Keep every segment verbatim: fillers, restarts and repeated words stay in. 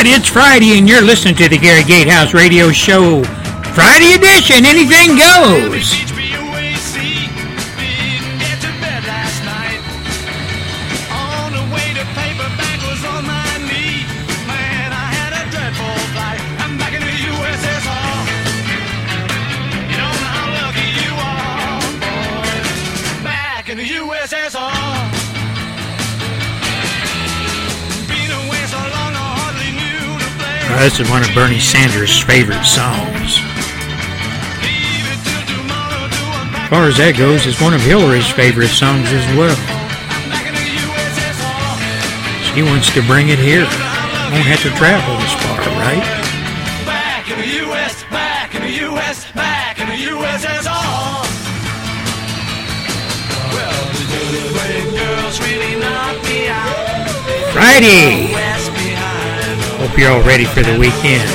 right, it's Friday, and you're listening to the Gary Gatehouse Radio Show. Friday edition, anything goes. Uh, this is one of Bernie Sanders' favorite songs. As far as that goes, it's one of Hillary's favorite songs as well. She wants to bring it here. Won't have to travel this far, right? Back in the U S, back in the U S, back in the U S S R. Well, the good girls really knocked me out. Friday. Hope you're all ready for the weekend.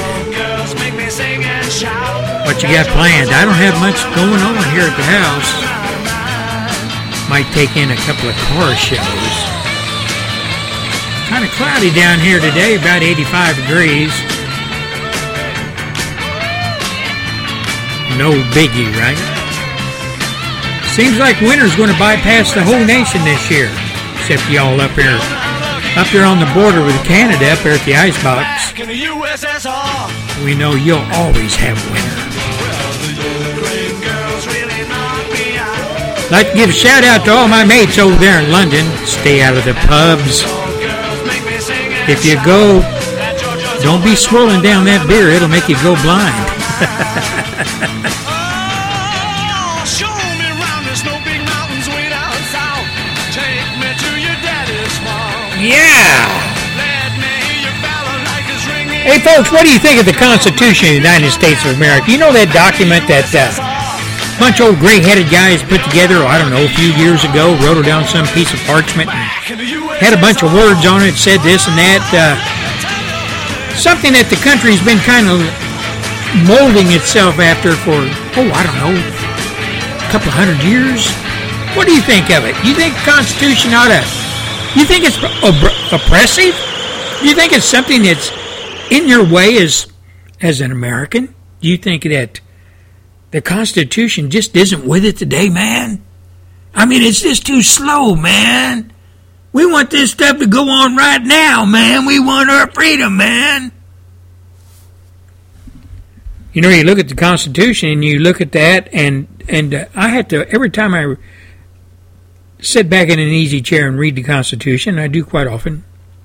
What you got planned? I don't have much going on here at the house. Might take in a couple of car shows. Kind of cloudy down here today, about eighty-five degrees. No biggie, right? Seems like winter's going to bypass the whole nation this year, except y'all up here. Up there on the border with Canada, up there at the icebox, we know you'll always have winter. I'd like to give a shout out to all my mates over there in London. Stay out of the pubs. If you go, don't be swirling down that beer. It'll make you go blind. Yeah! Hey folks, what do you think of the Constitution of the United States of America? You know that document that uh, a bunch of old gray-headed guys put together, I don't know, a few years ago, wrote it down some piece of parchment, and had a bunch of words on it, said this and that. Uh, something that the country's been kind of molding itself after for, oh, I don't know, a couple of hundred years? What do you think of it? You think the Constitution ought to... You think it's op- oppressive? Do you think it's something that's in your way as as an American? Do you think that the Constitution just isn't with it today, man? I mean, it's just too slow, man. We want this stuff to go on right now, man. We want our freedom, man. You know, you look at the Constitution and you look at that, and and uh, I have to, every time I sit back in an easy chair and read the Constitution, I do quite often,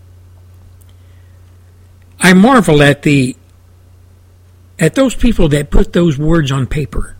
I marvel at the at those people that put those words on paper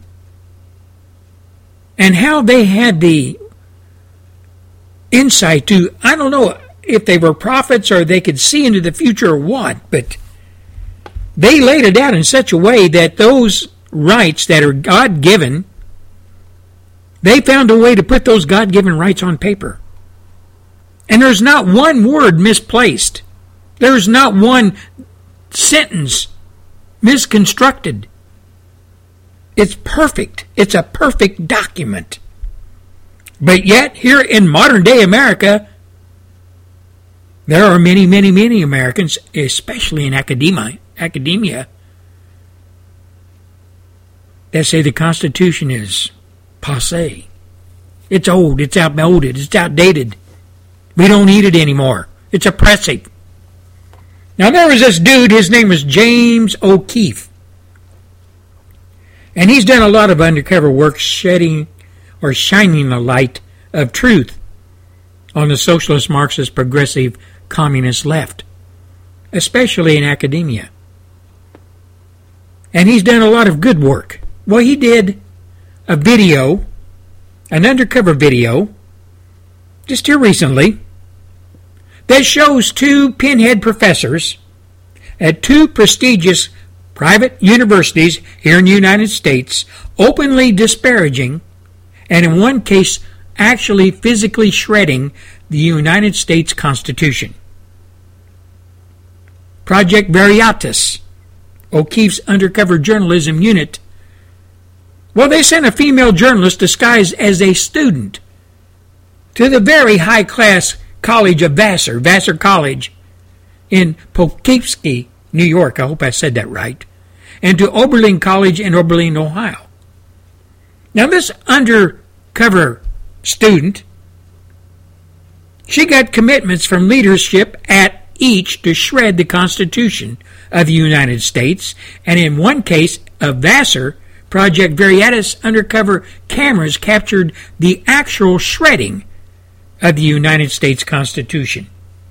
and how they had the insight to, I don't know if they were prophets or they could see into the future or what, but they laid it out in such a way that those rights that are God-given, they found a way to put those God-given rights on paper. And there's not one word misplaced. There's not one sentence misconstructed. It's perfect. It's a perfect document. But yet, here in modern-day America, there are many, many, many Americans, especially in academia, academia, that say the Constitution is passé. It's old, it's outmoded, it's outdated. We don't need it anymore. It's oppressive. Now there was this dude, his name was James O'Keefe. And he's done a lot of undercover work shedding or shining the light of truth on the socialist, Marxist, progressive, communist left, especially in academia. And he's done a lot of good work. Well, he did a video, an undercover video, just here recently, that shows two pinhead professors at two prestigious private universities here in the United States openly disparaging, and in one case actually physically shredding, the United States Constitution. Project Veritas, O'Keefe's undercover journalism unit, well, they sent a female journalist disguised as a student to the very high-class college of Vassar, Vassar College, in Poughkeepsie, New York. I hope I said that right. And to Oberlin College in Oberlin, Ohio. Now, this undercover student, she got commitments from leadership at each to shred the Constitution of the United States, and in one case of Vassar, Project Veritas undercover cameras captured the actual shredding of the United States Constitution.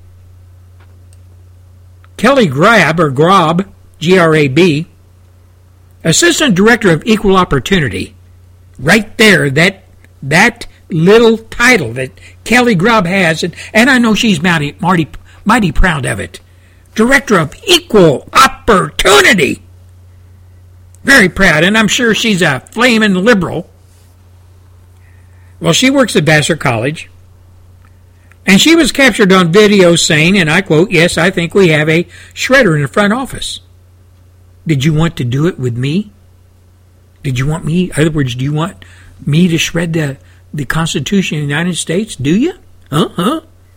Kelly Grab, or Grab, G R A B, Assistant Director of Equal Opportunity, right there, that that little title that Kelly Grab has, and, and I know she's mighty, mighty, mighty proud of it. Director of Equal Opportunity. Very proud, and I'm sure she's a flaming liberal. Well, she works at Vassar College, and she was captured on video saying, and I quote, "Yes, I think we have a shredder in the front office. Did you want to do it with me? Did you want me, in other words, do you want me to shred the, the Constitution of the United States? Do you? Uh-huh."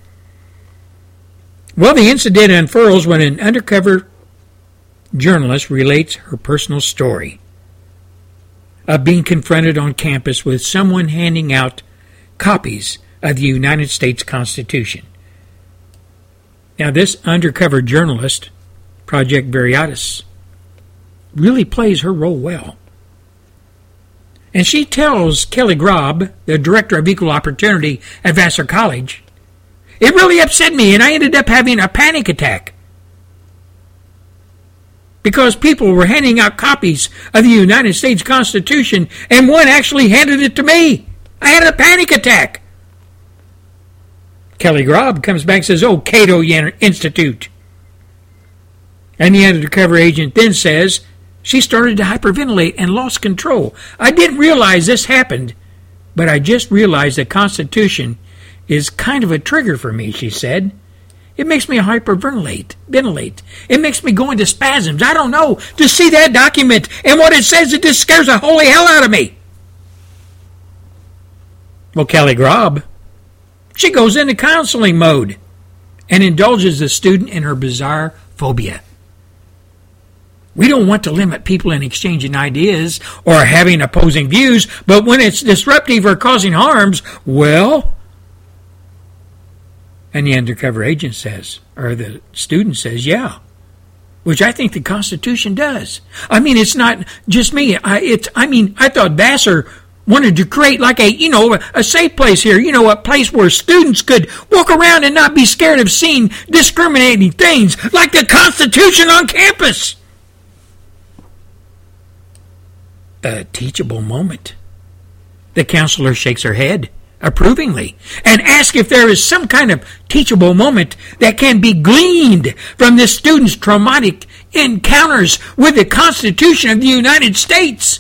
Well, the incident unfurls when an undercover journalist relates her personal story of being confronted on campus with someone handing out copies of the United States Constitution. Now, this undercover journalist, Project Veritas, really plays her role well. And she tells Kelly Grab, the Director of Equal Opportunity at Vassar College, "It really upset me, and I ended up having a panic attack because people were handing out copies of the United States Constitution, and one actually handed it to me. I had a panic attack." Kelly Grab comes back and says, "Oh, Cato Institute." And the undercover agent then says, "She started to hyperventilate and lost control. I didn't realize this happened, but I just realized the Constitution is kind of a trigger for me," she said. "It makes me hyperventilate. Ventilate. It makes me go into spasms. I don't know. To see that document and what it says, it just scares the holy hell out of me." Well, Kelly Grab, she goes into counseling mode and indulges the student in her bizarre phobia. We don't want to limit people in exchanging ideas or having opposing views, but when it's disruptive or causing harms, well... And the undercover agent says, or the student says, "Yeah," which I think the Constitution does. I mean, it's not just me. I, it's, I mean, I thought Vassar wanted to create like a, you know, a safe place here, you know, a place where students could walk around and not be scared of seeing discriminating things like the Constitution on campus. A teachable moment. The counselor shakes her head approvingly and asks if there is some kind of teachable moment that can be gleaned from this student's traumatic encounters with the Constitution of the United States.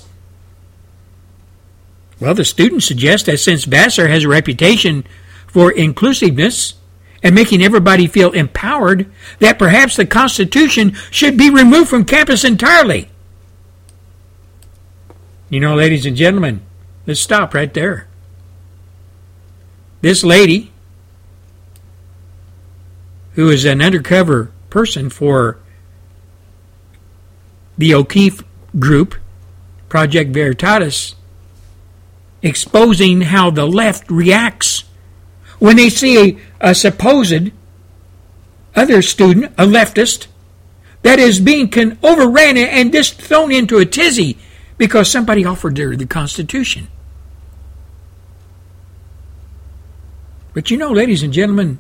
Well, the student suggests that since Vassar has a reputation for inclusiveness and making everybody feel empowered, that perhaps the Constitution should be removed from campus entirely. You know, ladies and gentlemen, let's stop right there. This lady, who is an undercover person for the O'Keefe Group, Project Veritas, exposing how the left reacts when they see a, a supposed other student, a leftist, that is being con- overran and just thrown into a tizzy because somebody offered her the Constitution. But you know, ladies and gentlemen,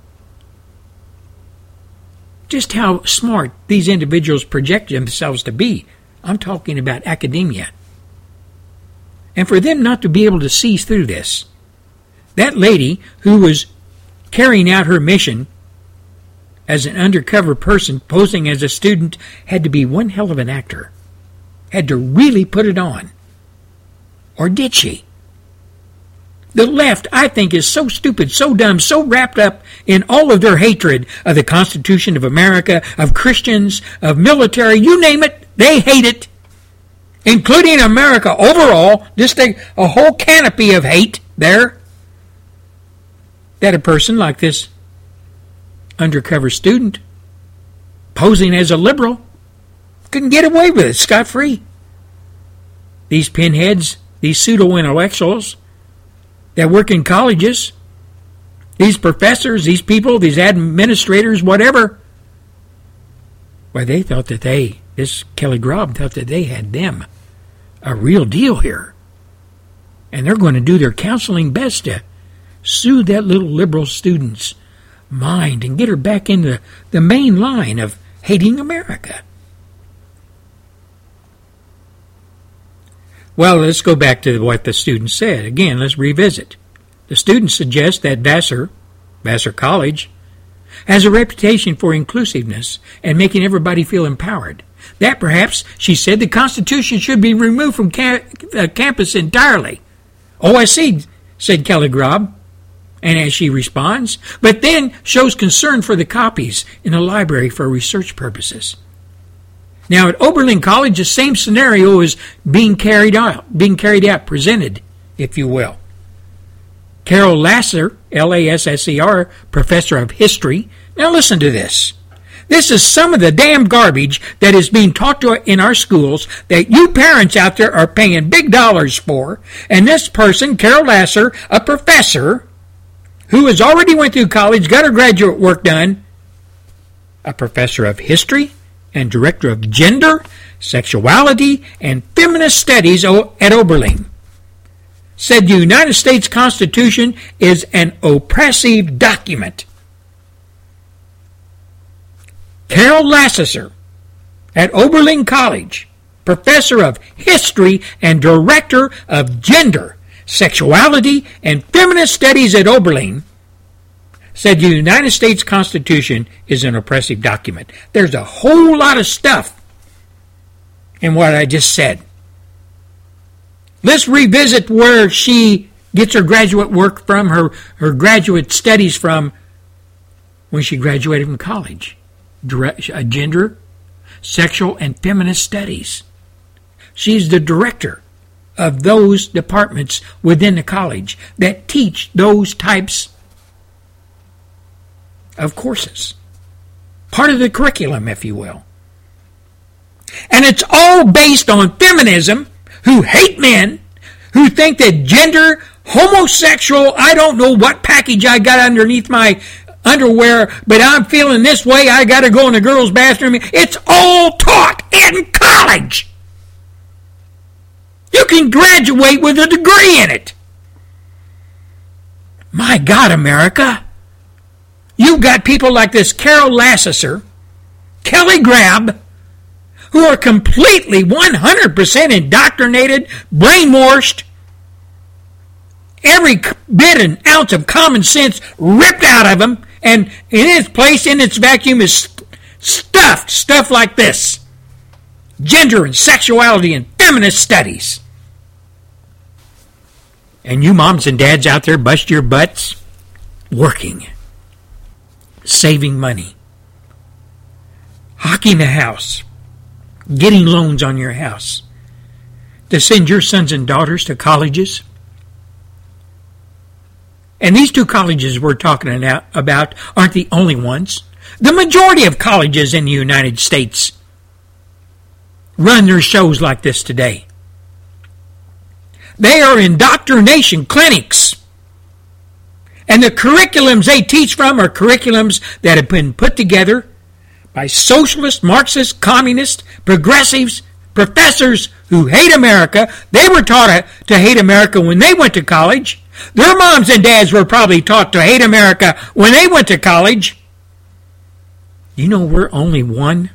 just how smart these individuals project themselves to be. I'm talking about academia. And for them not to be able to see through this, that lady who was carrying out her mission as an undercover person posing as a student had to be one hell of an actor. Had to really put it on. Or did she? The left, I think, is so stupid, so dumb, so wrapped up in all of their hatred of the Constitution of America, of Christians, of military, you name it, they hate it. Including America overall, just a, a whole canopy of hate there. That a person like this undercover student posing as a liberal, couldn't get away with it scot-free. These pinheads, these pseudo-intellectuals that work in colleges, these professors, these people, these administrators, whatever, well, they thought that they, this Kelly Grab thought that they had them a real deal here. And they're going to do their counseling best to soothe that little liberal student's mind and get her back into the main line of hating America. Well, let's go back to what the student said. Again, let's revisit. The student suggests that Vassar, Vassar College, has a reputation for inclusiveness and making everybody feel empowered. That perhaps, she said, the Constitution should be removed from ca- uh, campus entirely. Oh, I see, said Kelly Grab. And as she responds, but then shows concern for the copies in the library for research purposes. Now, at Oberlin College, the same scenario is being carried out, being carried out, presented, if you will. Carol Lasser, L A S S E R, professor of history. Now listen to this. This is some of the damn garbage that is being taught to in our schools that you parents out there are paying big dollars for. And this person, Carol Lasser, a professor who has already went through college, got her graduate work done, a professor of history and director of gender, sexuality, and feminist studies at Oberlin, said the United States Constitution is an oppressive document. Carol Lasser at Oberlin College, professor of history and director of gender, sexuality, and feminist studies at Oberlin, said the United States Constitution is an oppressive document. There's a whole lot of stuff in what I just said. Let's revisit where she gets her graduate work from, her, her graduate studies from when she graduated from college. Gender, sexual, and feminist studies. She's the director of those departments within the college that teach those types of courses. Part of the curriculum, if you will. And it's all based on feminism, who hate men, who think that gender, homosexual, I don't know what package I got underneath my underwear, but I'm feeling this way, I got to go in the girls' bathroom. It's all taught in college. You can graduate with a degree in it. My God, America. You've got people like this Carol Lasser, Kelly Grab, who are completely one hundred percent indoctrinated, brainwashed, every bit and ounce of common sense ripped out of them, and in its place, in its vacuum, is stuffed stuff like this. Gender and sexuality and feminist studies. And you moms and dads out there bust your butts working, saving money, hocking the house, getting loans on your house to send your sons and daughters to colleges. And these two colleges we're talking about aren't the only ones. The majority of colleges in the United States run their shows like this today. They are indoctrination clinics. And the curriculums they teach from are curriculums that have been put together by socialist, Marxist, communist, progressives, professors who hate America. They were taught to hate America when they went to college. Their moms and dads were probably taught to hate America when they went to college. You know, we're only one,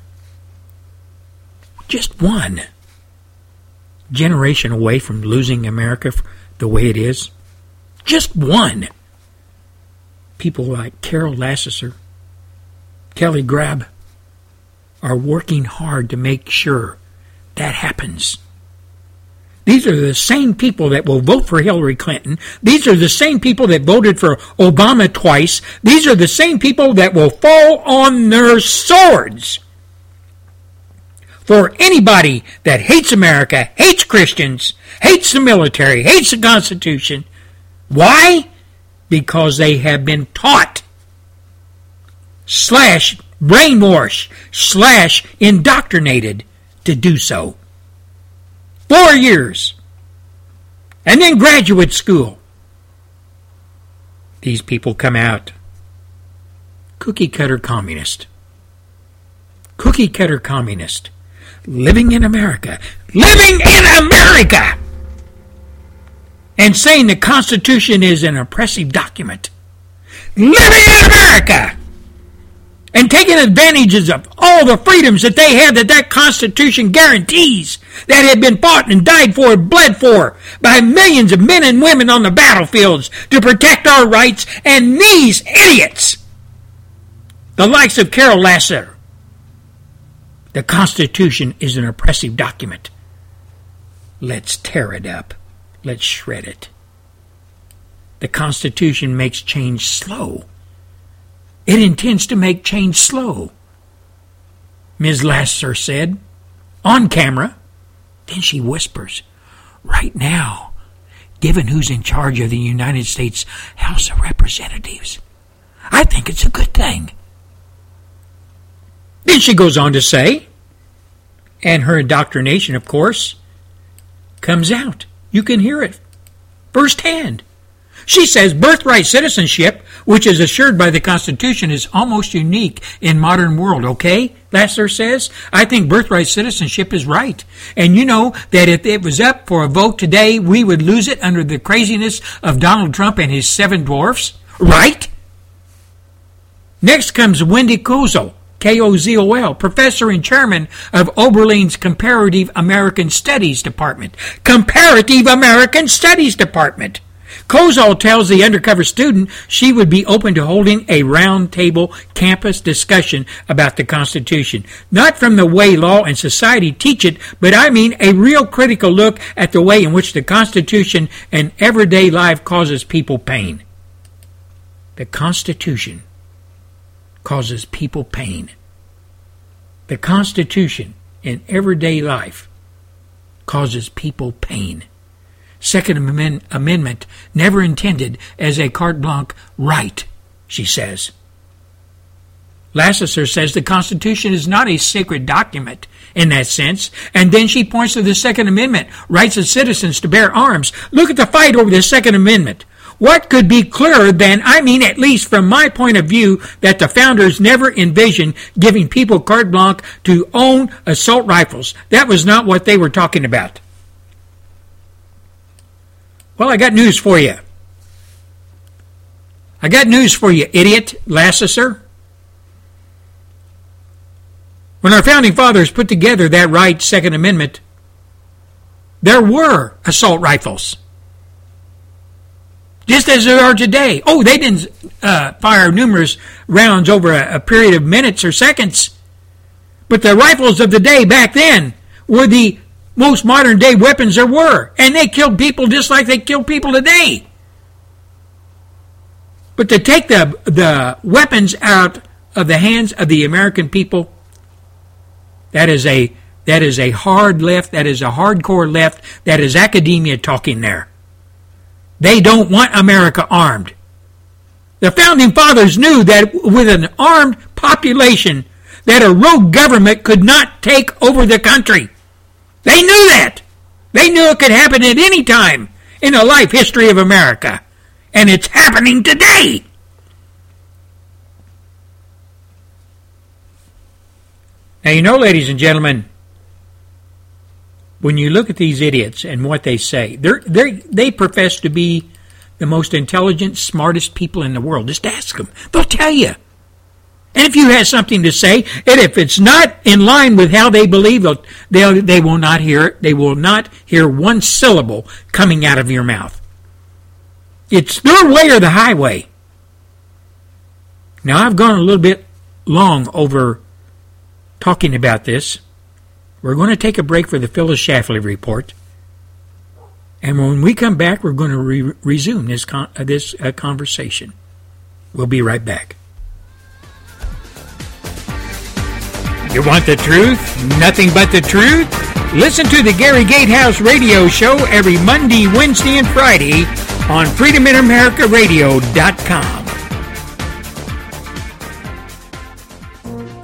just one generation away from losing America the way it is. Just one. People like Carol Lasser, Kelly Grab, are working hard to make sure that happens. These are the same people that will vote for Hillary Clinton. These are the same people that voted for Obama twice. These are the same people that will fall on their swords for anybody that hates America, hates Christians, hates the military, hates the Constitution. Why? Because they have been taught slash brainwashed slash indoctrinated to do so. Four years. And then graduate school. These people come out cookie cutter communist. Cookie cutter communist. Living in America. Living in America! And saying the Constitution is an oppressive document. Living in America! And taking advantages of all the freedoms that they have that that Constitution guarantees, that have been fought and died for and bled for by millions of men and women on the battlefields to protect our rights, and these idiots, the likes of Carol Lasseter. The Constitution is an oppressive document. Let's tear it up. Let's shred it. The Constitution makes change slow. It intends to make change slow, Miz Lasseter said, on camera. Then she whispers, right now, given who's in charge of the United States House of Representatives, I think it's a good thing. Then she goes on to say, and her indoctrination, of course, comes out. You can hear it firsthand. She says birthright citizenship, which is assured by the Constitution, is almost unique in modern world, okay? Lasseter says, I think birthright citizenship is right. And you know that if it was up for a vote today, we would lose it under the craziness of Donald Trump and his seven dwarfs, right? Next comes Wendy Kozol, K O Z O L, professor and chairman of Oberlin's Comparative American Studies Department. Comparative American Studies Department. Kozol tells the undercover student she would be open to holding a round-table campus discussion about the Constitution. Not from the way law and society teach it, but I mean a real critical look at the way in which the Constitution and everyday life causes people pain. The Constitution causes people pain. The Constitution in everyday life causes people pain. Second Amendment never intended as a carte blanche right, she says. Lasseter says the Constitution is not a sacred document in that sense, and then she points to the Second Amendment, rights of citizens to bear arms. Look at the fight over the Second Amendment. What could be clearer than, I mean, at least from my point of view, that the founders never envisioned giving people carte blanche to own assault rifles. That was not what they were talking about. Well, I got news for you. I got news for you, idiot, Lasseter. When our founding fathers put together that right Second Amendment, there were assault rifles. Just as there are today. Oh, they didn't uh, fire numerous rounds over a, a period of minutes or seconds. But the rifles of the day back then were the most modern day weapons there were. And they killed people just like they kill people today. But to take the, the weapons out of the hands of the American people, that is a that is a hard left, that is a hardcore left, that is academia talking there. They don't want America armed. The Founding Fathers knew that with an armed population, that a rogue government could not take over the country. They knew that. They knew it could happen at any time in the life history of America. And it's happening today. Now, you know, ladies and gentlemen, when you look at these idiots and what they say, they're, they're, they profess to be the most intelligent, smartest people in the world. Just ask them. They'll tell you. And if you have something to say, and if it's not in line with how they believe, they'll, they'll, they will not hear it. They will not hear one syllable coming out of your mouth. It's their way or the highway. Now, I've gone a little bit long over talking about this. We're going to take a break for the Phyllis Schlafly Report. And when we come back, we're going to re- resume this, con- uh, this uh, conversation. We'll be right back. You want the truth? Nothing but the truth? Listen to the Gary Gatehouse Radio Show every Monday, Wednesday, and Friday on freedom in america radio dot com.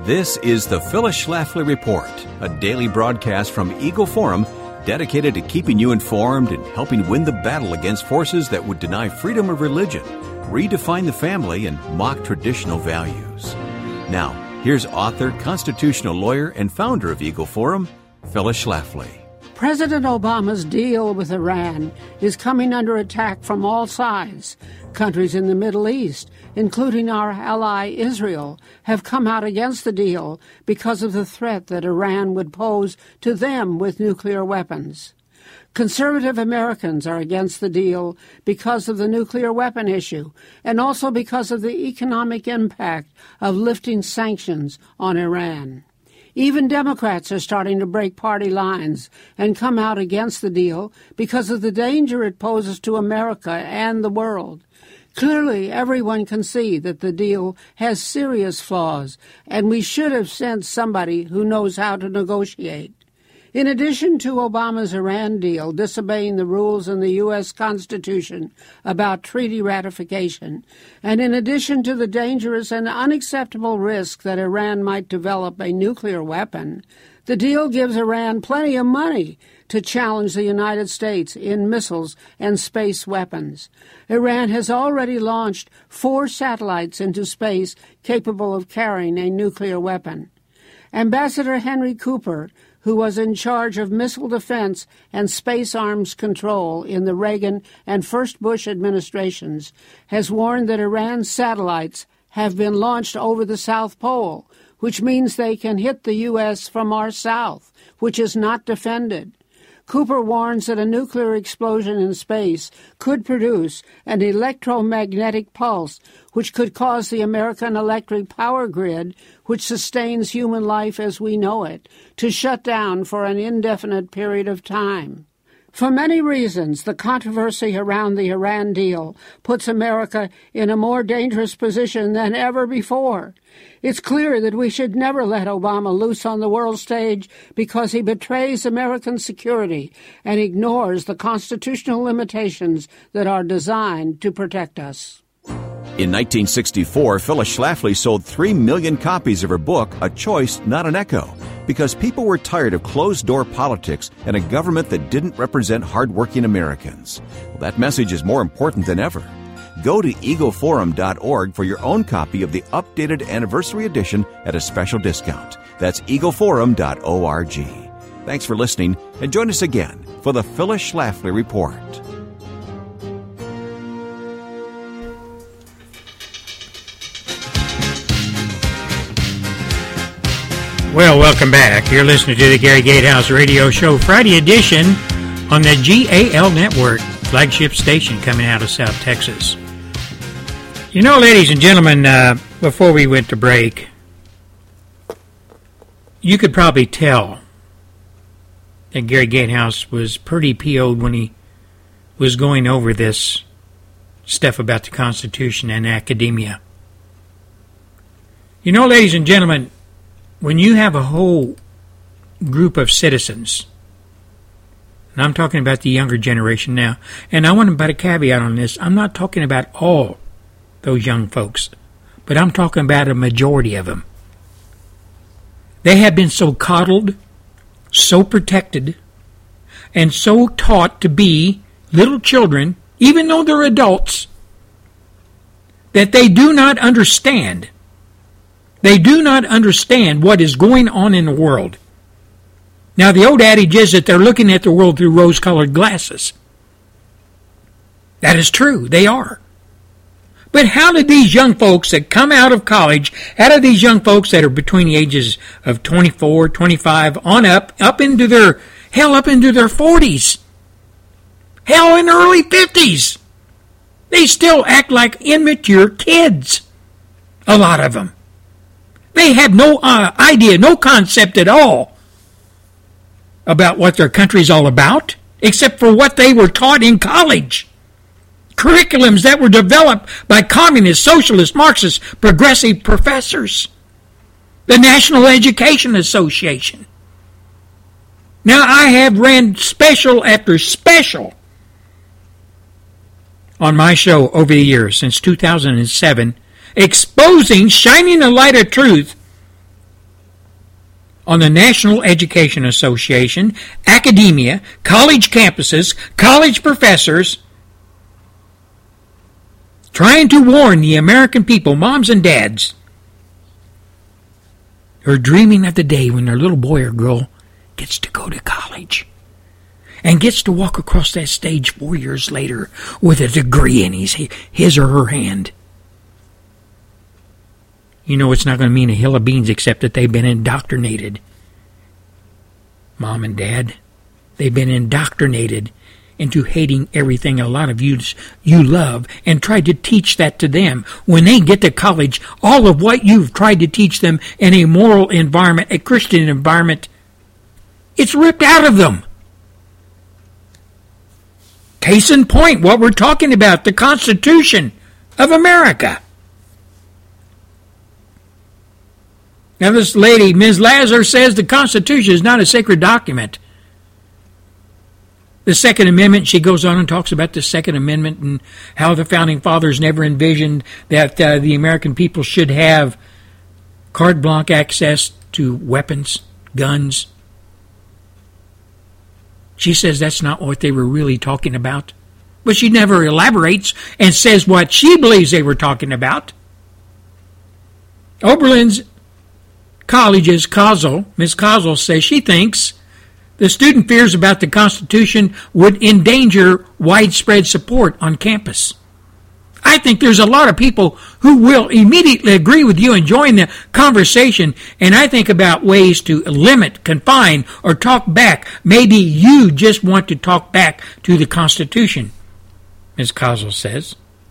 This is the Phyllis Schlafly Report, a daily broadcast from Eagle Forum dedicated to keeping you informed and helping win the battle against forces that would deny freedom of religion, redefine the family, and mock traditional values. Now, here's author, constitutional lawyer, and founder of Eagle Forum, Phyllis Schlafly. President Obama's deal with Iran is coming under attack from all sides. Countries in the Middle East, including our ally Israel, have come out against the deal because of the threat that Iran would pose to them with nuclear weapons. Conservative Americans are against the deal because of the nuclear weapon issue and also because of the economic impact of lifting sanctions on Iran. Even Democrats are starting to break party lines and come out against the deal because of the danger it poses to America and the world. Clearly, everyone can see that the deal has serious flaws, and we should have sent somebody who knows how to negotiate. In addition to Obama's Iran deal disobeying the rules in the U S Constitution about treaty ratification, and in addition to the dangerous and unacceptable risk that Iran might develop a nuclear weapon, the deal gives Iran plenty of money to challenge the United States in missiles and space weapons. Iran has already launched four satellites into space capable of carrying a nuclear weapon. Ambassador Henry Cooper, who was in charge of missile defense and space arms control in the Reagan and first Bush administrations, has warned that Iran's satellites have been launched over the South Pole, which means they can hit the U S from our south, which is not defended. Cooper warns that a nuclear explosion in space could produce an electromagnetic pulse which could cause the American electric power grid, which sustains human life as we know it, to shut down for an indefinite period of time. For many reasons, the controversy around the Iran deal puts America in a more dangerous position than ever before. It's clear that we should never let Obama loose on the world stage because he betrays American security and ignores the constitutional limitations that are designed to protect us. In nineteen sixty-four, Phyllis Schlafly sold three million copies of her book, A Choice, Not an Echo, because people were tired of closed-door politics and a government that didn't represent hardworking Americans. Well, that message is more important than ever. Go to eagle forum dot org for your own copy of the updated anniversary edition at a special discount. That's eagle forum dot org. Thanks for listening, and join us again for the Phyllis Schlafly Report. Well, welcome back. You're listening to the Gary Gatehouse Radio Show, Friday edition on the G A L Network, flagship station coming out of South Texas. You know, ladies and gentlemen, uh, before we went to break, you could probably tell that Gary Gatehouse was pretty P O'd when he was going over this stuff about the Constitution and academia. You know, ladies and gentlemen, when you have a whole group of citizens, and I'm talking about the younger generation now, and I want to put a caveat on this, I'm not talking about all those young folks, but I'm talking about a majority of them. They have been so coddled, so protected, and so taught to be little children, even though they're adults, that they do not understand They do not understand what is going on in the world. Now, the old adage is that they're looking at the world through rose-colored glasses. That is true. They are. But how did these young folks that come out of college, how do these young folks that are between the ages of twenty-four, twenty-five, on up, up into their, hell, up into their forties, hell, in their early fifties, they still act like immature kids, a lot of them. They have no uh, idea, no concept at all about what their country's all about, except for what they were taught in college. Curriculums that were developed by communist, socialist, Marxist, progressive professors. The National Education Association. Now, I have ran special after special on my show over the years, since two thousand seven, exposing, shining the light of truth on the National Education Association, academia, college campuses, college professors, trying to warn the American people, moms and dads, who are dreaming of the day when their little boy or girl gets to go to college and gets to walk across that stage four years later with a degree in his, his or her hand. You know it's not going to mean a hill of beans except that they've been indoctrinated. Mom and Dad, they've been indoctrinated into hating everything a lot of you, you love and tried to teach that to them. When they get to college, all of what you've tried to teach them in a moral environment, a Christian environment, it's ripped out of them. Case in point, what we're talking about, the Constitution of America. Now this lady, Miz Lazar, says the Constitution is not a sacred document. The Second Amendment, she goes on and talks about the Second Amendment and how the Founding Fathers never envisioned that uh, the American people should have carte blanche access to weapons, guns. She says that's not what they were really talking about. But she never elaborates and says what she believes they were talking about. Oberlin's College's Kozel, Miz Kozel says she thinks the student fears about the Constitution would endanger widespread support on campus. I think there's a lot of people who will immediately agree with you and join the conversation, and I think about ways to limit, confine, or talk back. Maybe you just want to talk back to the Constitution, Miz Kozel says.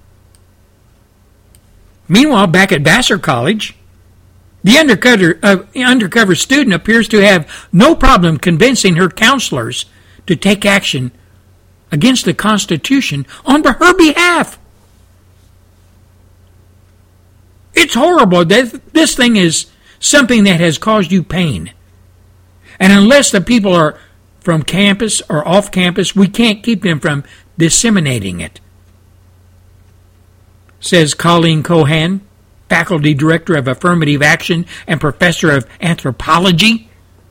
Meanwhile, back at Vassar College, the undercover, uh, undercover student appears to have no problem convincing her counselors to take action against the Constitution on her behalf. It's horrible. This thing is something that has caused you pain. And unless the people are from campus or off campus, we can't keep them from disseminating it, says Colleen Cohan, Faculty Director of Affirmative Action and Professor of Anthropology.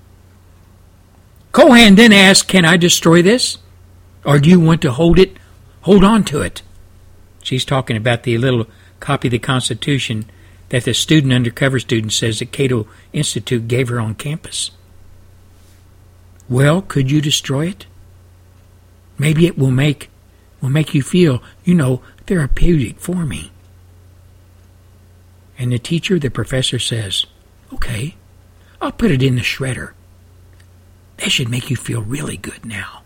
Cohan then asked, can I destroy this? Or do you want to hold it, hold on to it? She's talking about the little copy of the Constitution that the student, undercover student, says that Cato Institute gave her on campus. Well, could you destroy it? Maybe it will make, will make you feel, you know, therapeutic for me. And the teacher, the professor, says, okay, I'll put it in the shredder. That should make you feel really good now.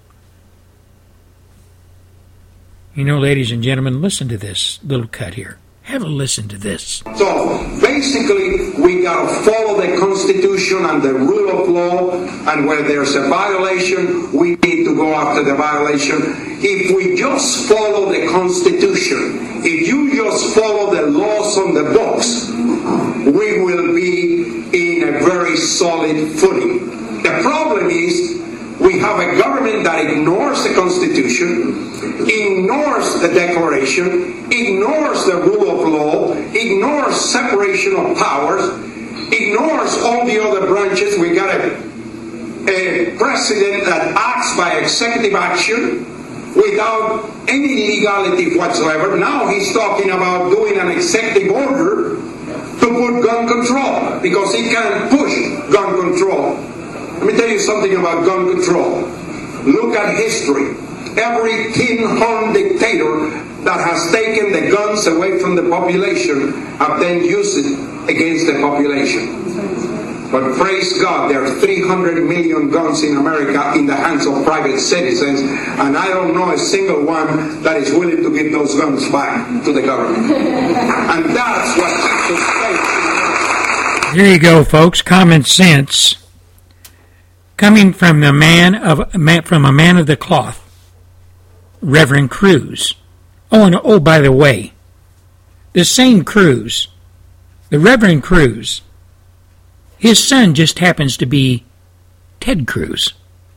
You know, ladies and gentlemen, listen to this little cut here. Have a listen to this. So basically, we got to follow the Constitution and the rule of law, and where there's a violation, we need to go after the violation. If we just follow the Constitution, if you just follow the laws on the books, we will be in a very solid footing. The problem is, we have a government that ignores the Constitution, ignores the Declaration, ignores the rule of law, ignores separation of powers, ignores all the other branches. We got a, a president that acts by executive action without any legality whatsoever. Now he's talking about doing an executive order to put gun control, because he can push gun control. Let me tell you something about gun control. Look at history. Every tin-horn dictator that has taken the guns away from the population have then used it against the population. But praise God, there are three hundred million guns in America in the hands of private citizens, and I don't know a single one that is willing to give those guns back to the government. And that's what keeps us safe. There you go, folks. Common sense. Coming from the man of from a man of the cloth, Reverend Cruz. Oh, and oh, by the way, the same Cruz, the Reverend Cruz, his son just happens to be Ted Cruz.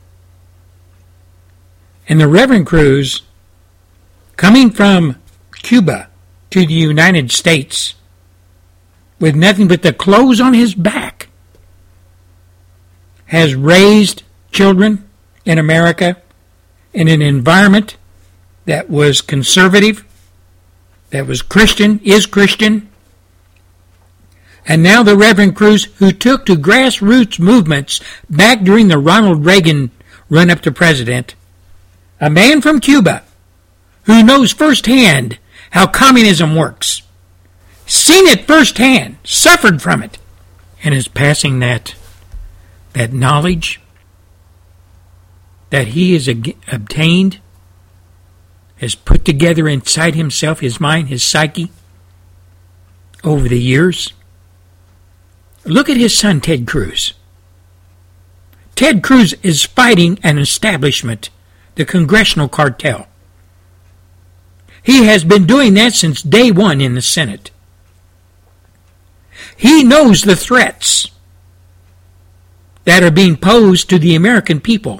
And the Reverend Cruz, coming from Cuba to the United States with nothing but the clothes on his back, has raised children in America in an environment that was conservative, that was Christian, is Christian. And now the Reverend Cruz, who took to grassroots movements back during the Ronald Reagan run-up to president, a man from Cuba who knows firsthand how communism works, seen it firsthand, suffered from it, and is passing that, that knowledge that he has obtained, has put together inside himself, his mind, his psyche, over the years. Look at his son, Ted Cruz. Ted Cruz is fighting an establishment, the congressional cartel. He has been doing that since day one in the Senate. He knows the threats that are being posed to the American people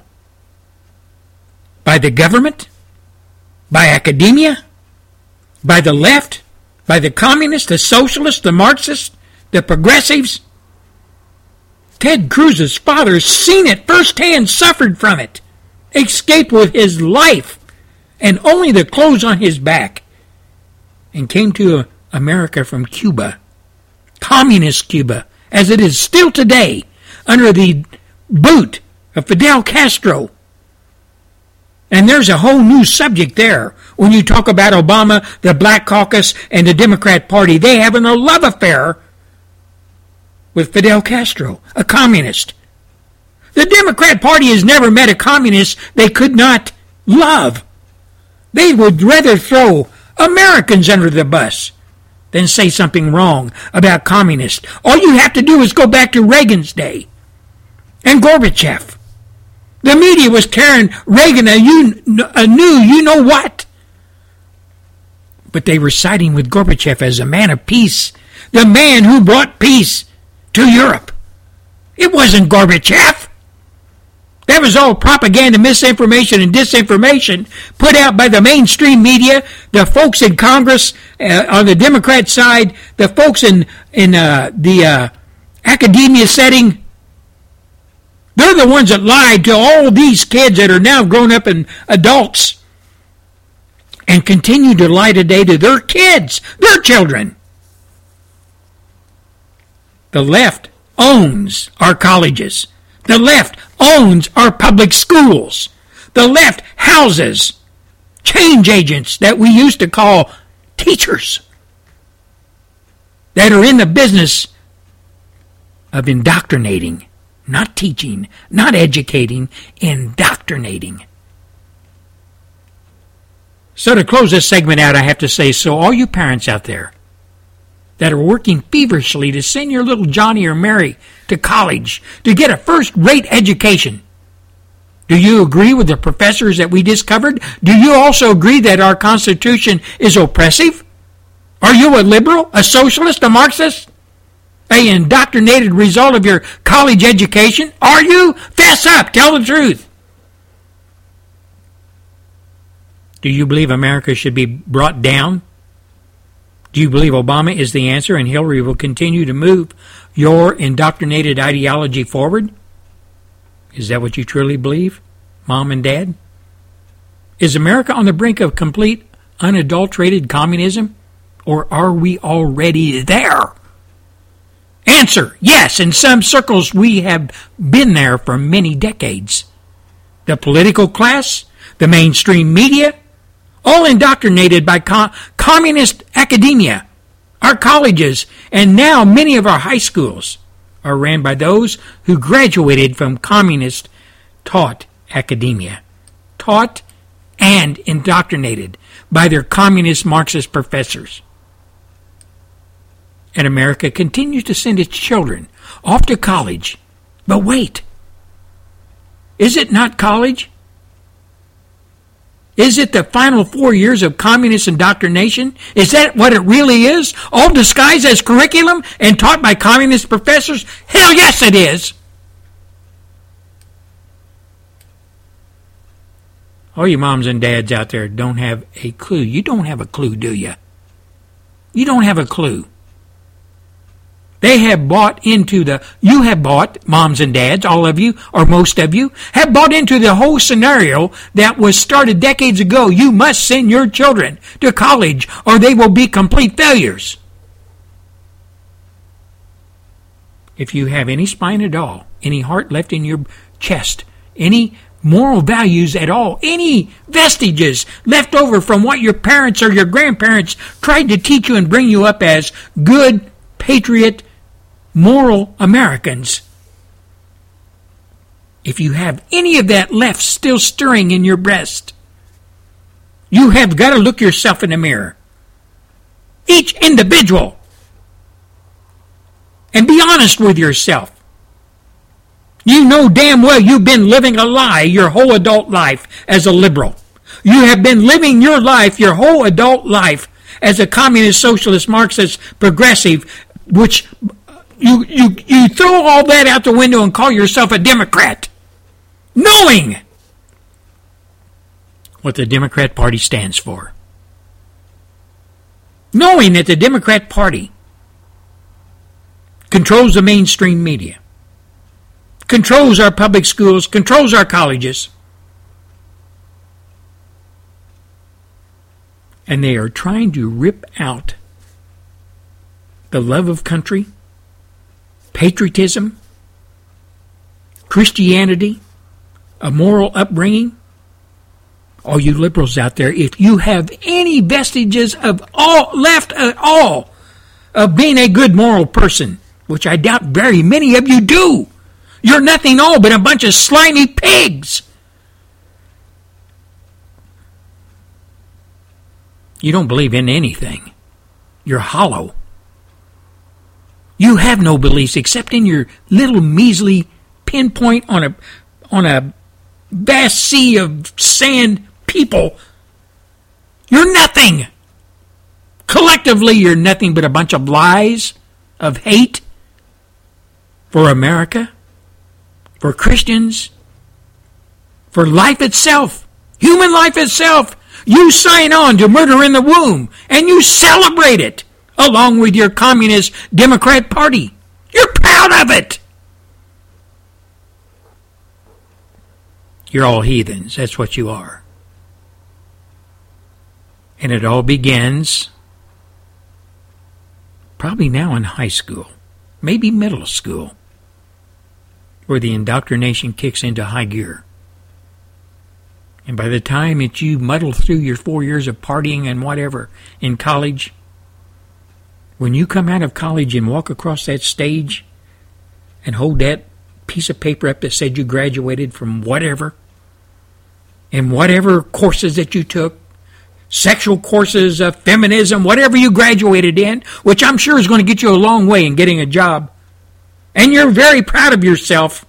by the government, by academia, by the left, by the communists, the socialists, the Marxists, the progressives. Ted Cruz's father has seen it firsthand, suffered from it, escaped with his life and only the clothes on his back, and came to America from Cuba, communist Cuba, as it is still today, under the boot of Fidel Castro. And there's a whole new subject there. When you talk about Obama, the Black Caucus, and the Democrat Party, they have a love affair with Fidel Castro, a communist. The Democrat Party has never met a communist they could not love. They would rather throw Americans under the bus than say something wrong about communists. All you have to do is go back to Reagan's day and Gorbachev. The media was carrying Reagan a, a new you-know-what. But they were siding with Gorbachev as a man of peace, the man who brought peace to Europe. It wasn't Gorbachev. That was all propaganda, misinformation, and disinformation put out by the mainstream media, the folks in Congress uh, on the Democrat side, the folks in, in uh, the uh, academia setting. They're the ones that lied to all these kids that are now grown up and adults and continue to lie today to their kids, their children. The left owns our colleges. The left owns our public schools. The left houses change agents that we used to call teachers that are in the business of indoctrinating, not teaching, not educating, indoctrinating. So to close this segment out, I have to say, so all you parents out there that are working feverishly to send your little Johnny or Mary to college to get a first-rate education, do you agree with the professors that we discovered? Do you also agree that our Constitution is oppressive? Are you a liberal, a socialist, a Marxist? An indoctrinated result of your college education? Are you? Fess up. Tell the truth. Do you believe America should be brought down? Do you believe Obama is the answer and Hillary will continue to move your indoctrinated ideology forward? Is that what you truly believe, Mom and Dad? Is America on the brink of complete, unadulterated communism? Or are we already there? Answer, yes, in some circles we have been there for many decades. The political class, the mainstream media, all indoctrinated by com- communist academia. Our colleges, and now many of our high schools, are ran by those who graduated from communist-taught academia. Taught and indoctrinated by their communist Marxist professors. And America continues to send its children off to college. But wait. Is it not college? Is it the final four years of communist indoctrination? Is that what it really is? All disguised as curriculum and taught by communist professors? Hell yes it is! All you moms and dads out there don't have a clue. You don't have a clue, do you? You don't have a clue They have bought into the, you have bought, moms and dads, all of you, or most of you, have bought into the whole scenario that was started decades ago. You must send your children to college or they will be complete failures. If you have any spine at all, any heart left in your chest, any moral values at all, any vestiges left over from what your parents or your grandparents tried to teach you and bring you up as good, patriot, moral Americans. If you have any of that left still stirring in your breast, you have got to look yourself in the mirror. Each individual. And be honest with yourself. You know damn well you've been living a lie your whole adult life as a liberal. You have been living your life, your whole adult life, as a communist, socialist, Marxist, progressive, which you, you, you throw all that out the window and call yourself a Democrat, knowing what the Democrat Party stands for. Knowing that the Democrat Party controls the mainstream media, controls our public schools, controls our colleges, and they are trying to rip out the love of country, patriotism, Christianity, a moral upbringing. All you liberals out there, if you have any vestiges of all left at all of being a good moral person, which I doubt very many of you do, you're nothing all but a bunch of slimy pigs. You don't believe in anything. You're hollow. You have no beliefs except in your little measly pinpoint on a on a vast sea of sand people. You're nothing. Collectively, you're nothing but a bunch of lies, of hate for America, for Christians, for life itself, human life itself. You sign on to murder in the womb, and you celebrate it, along with your communist Democrat Party. You're proud of it. You're all heathens. That's what you are. And it all begins probably now in high school, maybe middle school, where the indoctrination kicks into high gear. And by the time that you muddle through your four years of partying and whatever in college, when you come out of college and walk across that stage and hold that piece of paper up that said you graduated from whatever, and whatever courses that you took, sexual courses, uh, feminism, whatever you graduated in, which I'm sure is going to get you a long way in getting a job, and you're very proud of yourself,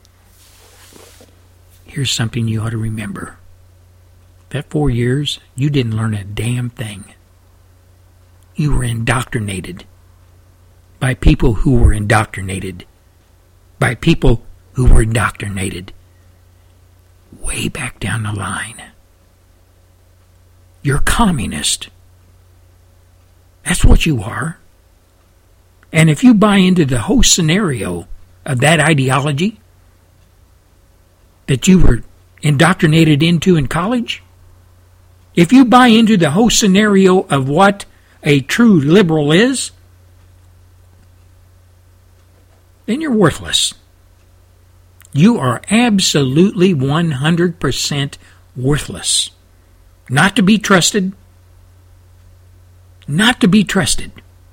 here's something you ought to remember. That four years, you didn't learn a damn thing. You were indoctrinated by people who were indoctrinated. By people who were indoctrinated. Way back down the line. You're communist. That's what you are. And if you buy into the whole scenario of that ideology that you were indoctrinated into in college, if you buy into the whole scenario of what a true liberal is, then you're worthless. You are absolutely one hundred percent worthless. Not to be trusted. Not to be trusted.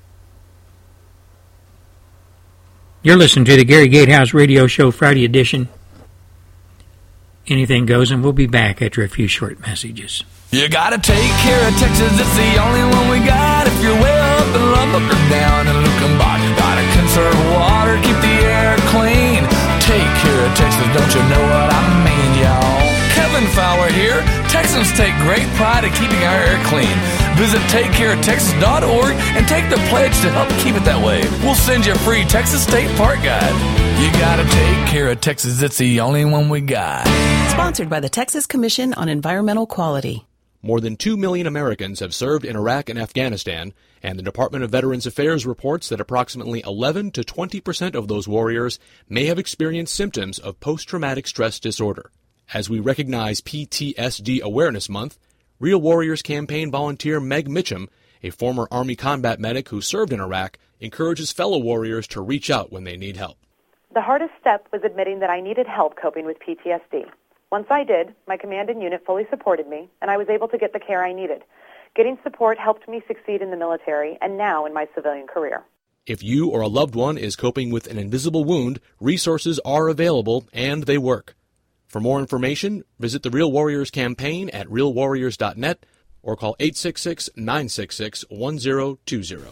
You're listening to the Gary Gatehouse Radio Show Friday edition. Anything goes, and we'll be back after a few short messages. You gotta take care of Texas, it's the only one we got. If you're way up in Lubbock or down in Luckenbach, gotta conserve water, keep the air clean. Take care of Texas, don't you know what I mean, y'all? Kevin Fowler here. Texans take great pride in keeping our air clean. Visit take care of texas dot org and take the pledge to help keep it that way. We'll send you a free Texas State Park Guide. You gotta take care of Texas, it's the only one we got. Sponsored by the Texas Commission on Environmental Quality. More than two million Americans have served in Iraq and Afghanistan, and the Department of Veterans Affairs reports that approximately eleven to twenty percent of those warriors may have experienced symptoms of post-traumatic stress disorder. As we recognize P T S D Awareness Month, Real Warriors campaign volunteer Meg Mitchum, a former Army combat medic who served in Iraq, encourages fellow warriors to reach out when they need help. The hardest step was admitting that I needed help coping with P T S D. Once I did, my command and unit fully supported me, and I was able to get the care I needed. Getting support helped me succeed in the military and now in my civilian career. If you or a loved one is coping with an invisible wound, resources are available and they work. For more information, visit the Real Warriors campaign at real warriors dot net or call eight six six, nine six six, one zero two zero.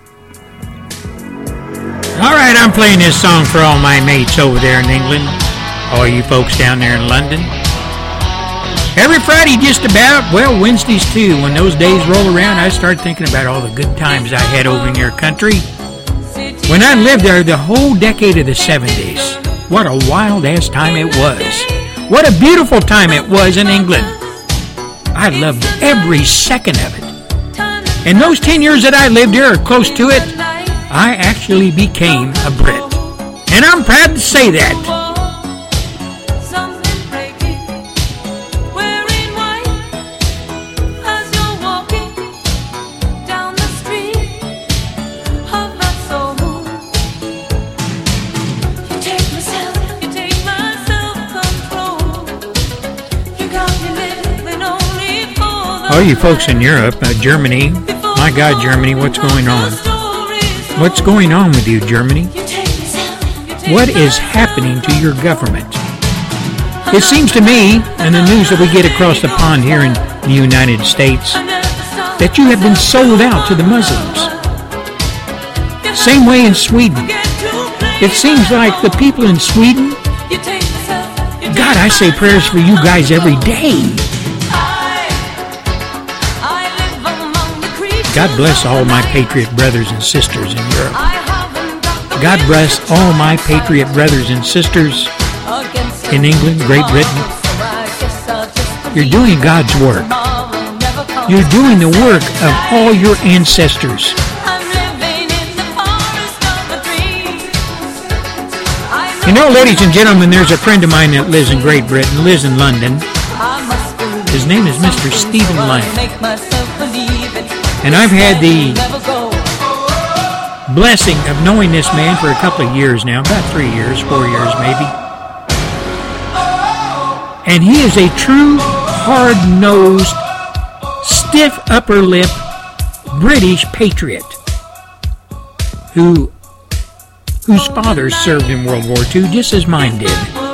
All right, I'm playing this song for all my mates over there in England, all you folks down there in London. Every Friday just about, well, Wednesdays too, when those days roll around, I start thinking about all the good times I had over in your country. When I lived there the whole decade of the seventies, what a wild-ass time it was. What a beautiful time it was in England. I loved every second of it. And those ten years that I lived here, or close to it, I actually became a Brit. And I'm proud to say that. All you folks in Europe, uh, Germany, my God, Germany, what's going on? What's going on with you, Germany? What is happening to your government? It seems to me, and the news that we get across the pond here in the United States, that you have been sold out to the Muslims. Same way in Sweden. It seems like the people in Sweden, God, I say prayers for you guys every day. God bless all my patriot brothers and sisters in Europe. God bless all my patriot brothers and sisters in England, Great Britain. You're doing God's work. You're doing the work of all your ancestors. You know, ladies and gentlemen, there's a friend of mine that lives in Great Britain, lives in London. His name is Mister Stephen Lang. And I've had the blessing of knowing this man for a couple of years now, about three years, four years maybe. And he is a true, hard-nosed, stiff upper lip British patriot who whose father served in World War Two just as mine did.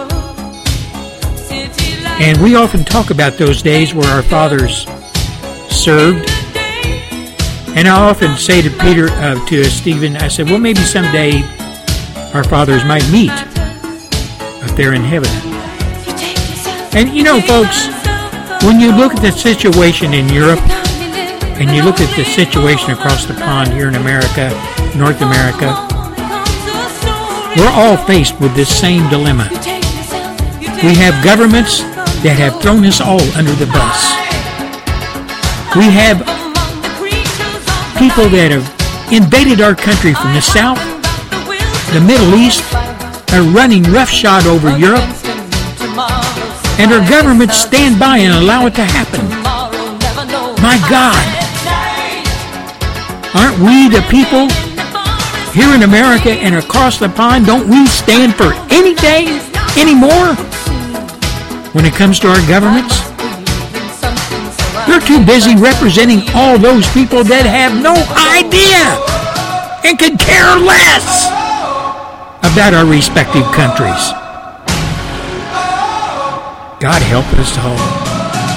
And we often talk about those days where our fathers served. And I often say to Peter, uh, to Stephen, I said, well, maybe someday our fathers might meet up there in heaven. And you know, folks, when you look at the situation in Europe, and you look at the situation across the pond here in America, North America, we're all faced with this same dilemma. We have governments that have thrown us all under the bus. We have people that have invaded our country from the south, the Middle East, are running roughshod over Europe, and our governments stand by and allow it to happen. My God, aren't we the people here in America and across the pond? Don't we stand for anything anymore when it comes to our governments? They're too busy representing all those people that have no idea and could care less about our respective countries. God help us all.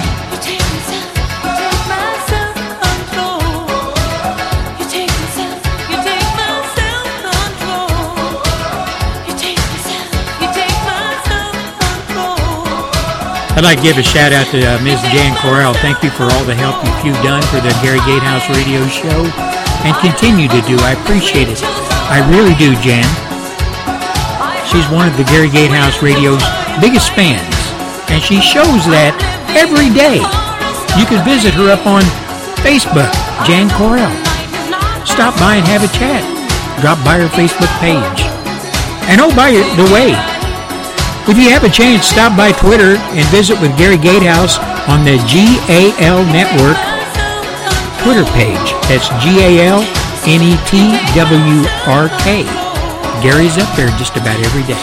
I'd like to give a shout out to uh, Miz Jan Corral. Thank you for all the help you've done for the Gary Gatehouse radio show and continue to do. I appreciate it. I really do, Jan. She's one of the Gary Gatehouse radio's biggest fans, and she shows that every day. You can visit her up on Facebook, Jan Correll. Stop by and have a chat. Drop by her Facebook page. And oh, by the way, if you have a chance, stop by Twitter and visit with Gary Gatehouse on the G A L Network Twitter page. That's G A L N E T W R K. Gary's up there just about every day.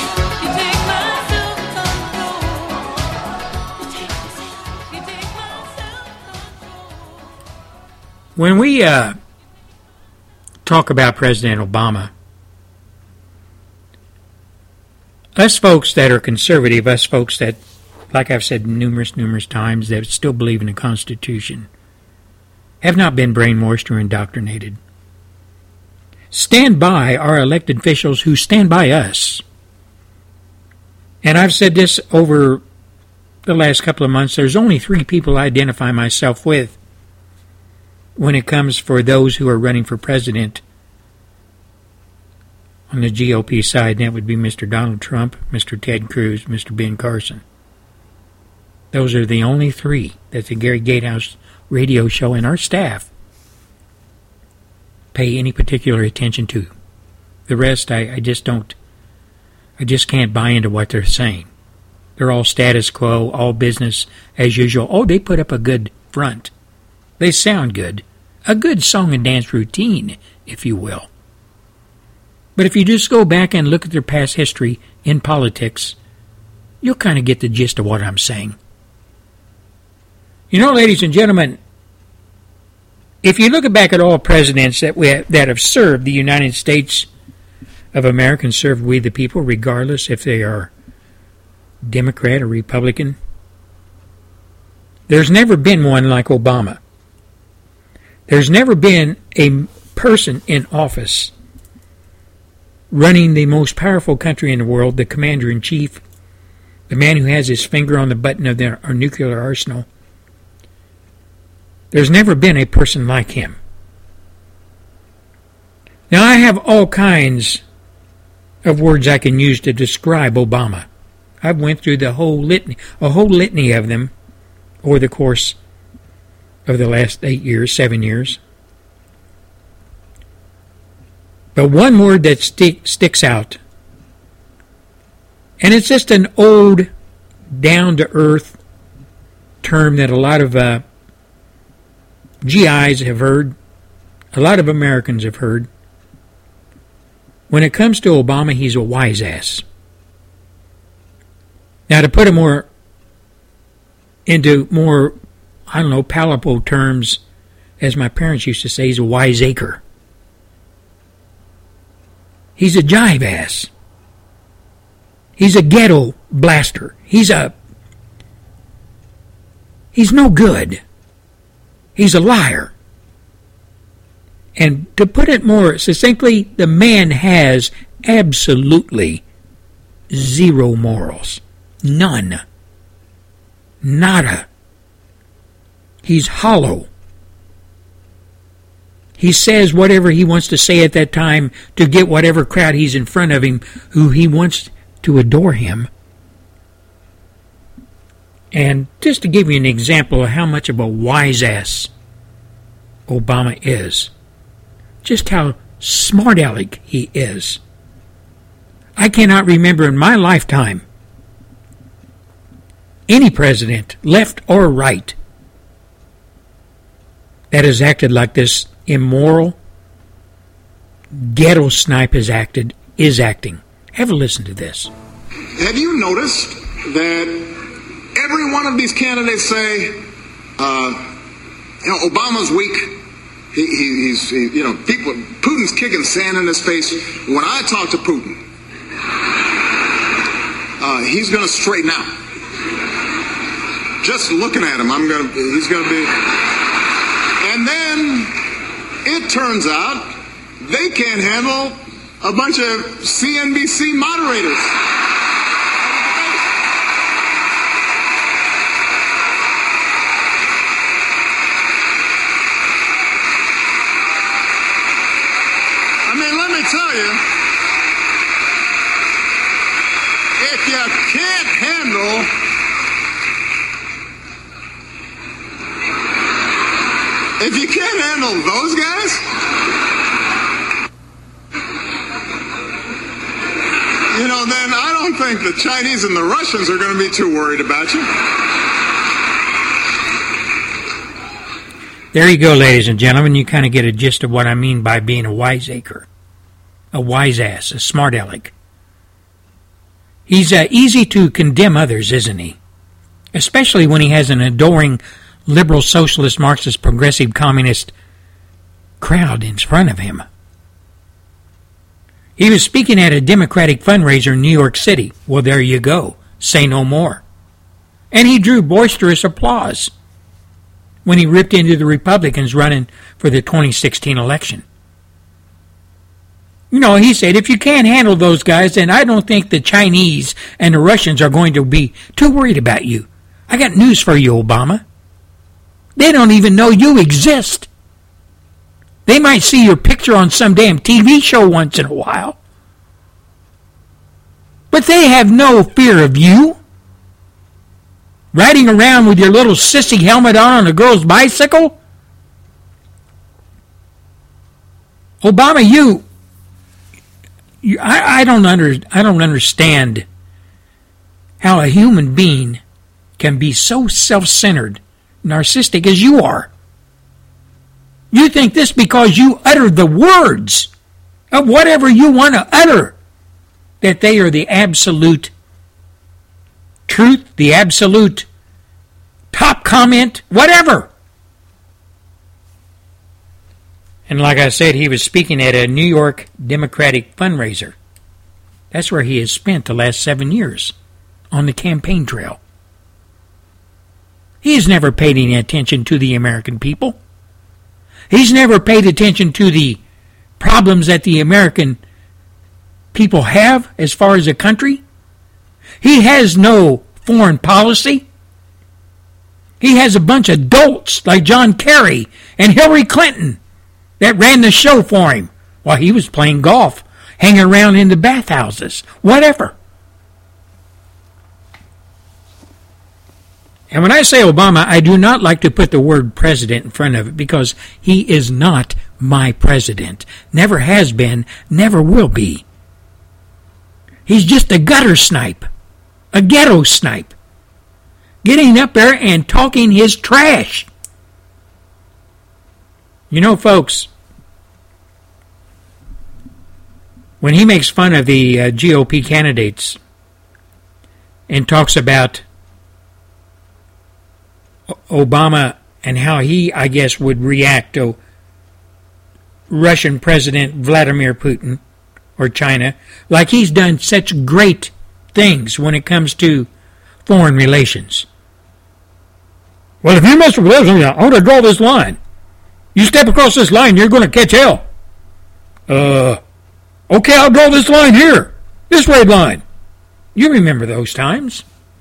When we uh, talk about President Obama, us folks that are conservative, us folks that, like I've said numerous, numerous times, that still believe in the Constitution, have not been brainwashed or indoctrinated. Stand by our elected officials who stand by us. And I've said this over the last couple of months. There's only three people I identify myself with when it comes for those who are running for president on the G O P side, and that would be Mister Donald Trump, Mister Ted Cruz, Mister Ben Carson. Those are the only three that the Gary Gatehouse radio show and our staff pay any particular attention to. The rest, I, I just don't, I just can't buy into what they're saying. They're all status quo, all business as usual. Oh, they put up a good front. They sound good. A good song and dance routine, if you will. But if you just go back and look at their past history in politics, you'll kind of get the gist of what I'm saying. You know, ladies and gentlemen, if you look back at all presidents that we have, that have served the United States of America and served we the people, regardless if they are Democrat or Republican, there's never been one like Obama. There's never been a person in office running the most powerful country in the world, the commander-in-chief, the man who has his finger on the button of their, our nuclear arsenal. There's never been a person like him. Now, I have all kinds of words I can use to describe Obama. I've went through the whole litany, a whole litany of them over the course of the last eight years, seven years. But one word that stick, sticks out, and it's just an old, down-to-earth term that a lot of uh, G Is have heard, a lot of Americans have heard. When it comes to Obama, he's a wise ass. Now, to put it more into more, I don't know, palatable terms, as my parents used to say, he's a wiseacre. He's a jive ass. He's a ghetto blaster. He's a... He's no good. He's a liar. And to put it more succinctly, the man has absolutely zero morals. None. Nada. He's hollow. He says whatever he wants to say at that time to get whatever crowd he's in front of him who he wants to adore him. And just to give you an example of how much of a wise ass Obama is, just how smart aleck he is. I cannot remember in my lifetime any president, left or right, that has acted like this immoral ghetto snipe has acted, is acting. Have a listen to this. Have you noticed that every one of these candidates say, uh, you know, Obama's weak. He, he, he's, he, you know, people, Putin's kicking sand in his face. When I talk to Putin, uh, he's going to straighten out. Just looking at him, I'm going to, he's going to be. And then it turns out they can't handle a bunch of C N B C moderators. I mean, let me tell you, if you can't handle If you can't handle those guys, you know, then I don't think the Chinese and the Russians are going to be too worried about you. There you go, ladies and gentlemen. You kind of get a gist of what I mean by being a wiseacre, a wise ass, a smart aleck. He's uh, easy to condemn others, isn't he? Especially when he has an adoring liberal, socialist, Marxist, progressive, communist crowd in front of him. He was speaking at a Democratic fundraiser in New York City. Well, there you go. Say no more. And he drew boisterous applause when he ripped into the Republicans running for the twenty sixteen election. You know, he said, if you can't handle those guys, then I don't think the Chinese and the Russians are going to be too worried about you. I got news for you, Obama. They don't even know you exist. They might see your picture on some damn T V show once in a while. But they have no fear of you. Riding around with your little sissy helmet on on a girl's bicycle? Obama, you... you I, I, don't under, I don't understand how a human being can be so self-centered, narcissistic as you are. You think this because you utter the words of whatever you want to utter, that they are the absolute truth, the absolute top comment, whatever. And like I said, he was speaking at a New York Democratic fundraiser. That's where he has spent the last seven years, on the campaign trail. He has never paid any attention to the American people. He's never paid attention to the problems that the American people have as far as a country. He has no foreign policy. He has a bunch of dolts like John Kerry and Hillary Clinton that ran the show for him while he was playing golf, hanging around in the bathhouses, whatever. And when I say Obama, I do not like to put the word president in front of it because he is not my president. Never has been, never will be. He's just a gutter snipe, a ghetto snipe, getting up there and talking his trash. You know, folks, when he makes fun of the uh, G O P candidates and talks about Obama and how he, I guess, would react to Russian President Vladimir Putin or China, like he's done such great things when it comes to foreign relations. Well, if you mess with this, I'm going to draw this line. You step across this line, you're going to catch hell. Uh, okay, I'll draw this line here. This red line. You remember those times.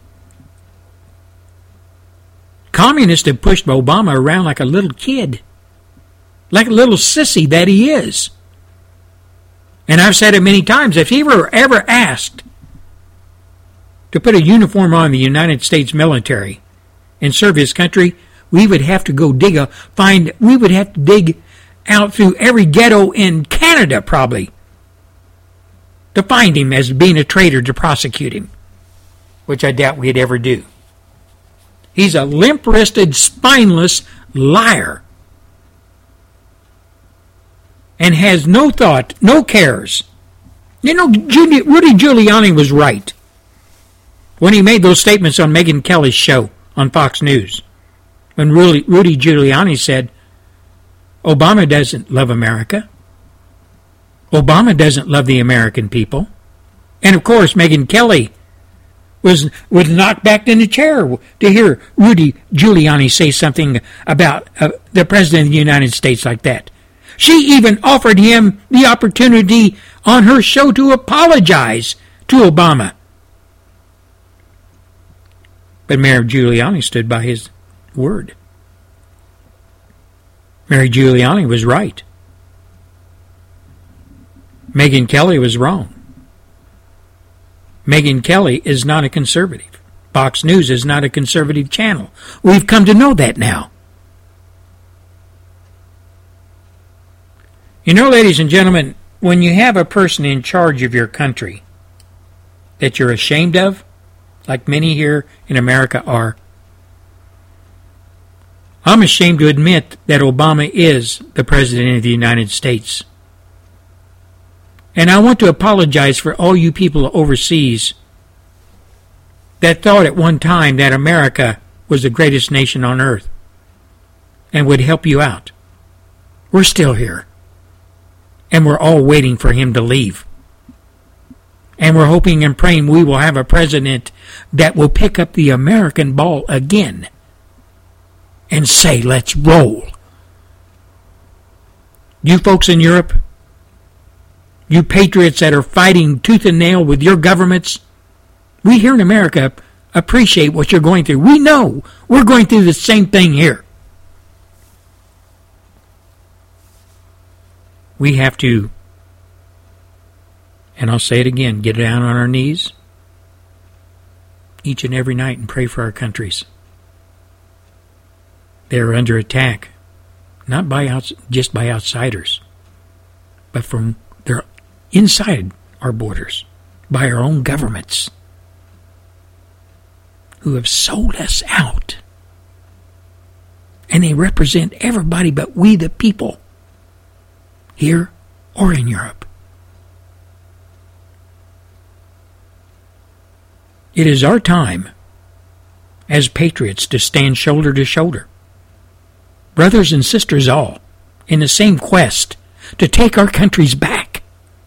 Communists have pushed Obama around like a little kid. Like a little sissy that he is. And I've said it many times, if he were ever asked to put a uniform on the United States military and serve his country, we would have to go dig a, find, we would have to dig out through every ghetto in Canada, probably, to find him as being a traitor to prosecute him, which I doubt we'd ever do. He's a limp-wristed, spineless liar and has no thought, no cares. You know, Rudy Giuliani was right when he made those statements on Megyn Kelly's show on Fox News. When Rudy, Rudy Giuliani said, Obama doesn't love America. Obama doesn't love the American people. And, of course, Megyn Kelly was was knocked back in the chair to hear Rudy Giuliani say something about uh, the President of the United States like that. She even offered him the opportunity on her show to apologize to Obama. But Mayor Giuliani stood by his word. Mayor Giuliani was right. Megyn Kelly was wrong. Megyn Kelly is not a conservative. Fox News is not a conservative channel. We've come to know that now. You know, ladies and gentlemen, when you have a person in charge of your country that you're ashamed of, like many here in America are, I'm ashamed to admit that Obama is the President of the United States. And I want to apologize for all you people overseas that thought at one time that America was the greatest nation on earth and would help you out. We're still here. And we're all waiting for him to leave. And we're hoping and praying we will have a president that will pick up the American ball again and say, let's roll. You folks in Europe, you patriots that are fighting tooth and nail with your governments, we here in America appreciate what you're going through. We know we're going through the same thing here. We have to, and I'll say it again, get down on our knees each and every night and pray for our countries. They are under attack, not by outs- just by outsiders, but from their inside our borders, by our own governments, who have sold us out. And they represent everybody but we the people, here or in Europe. It is our time as patriots to stand shoulder to shoulder, brothers and sisters all, in the same quest to take our countries back.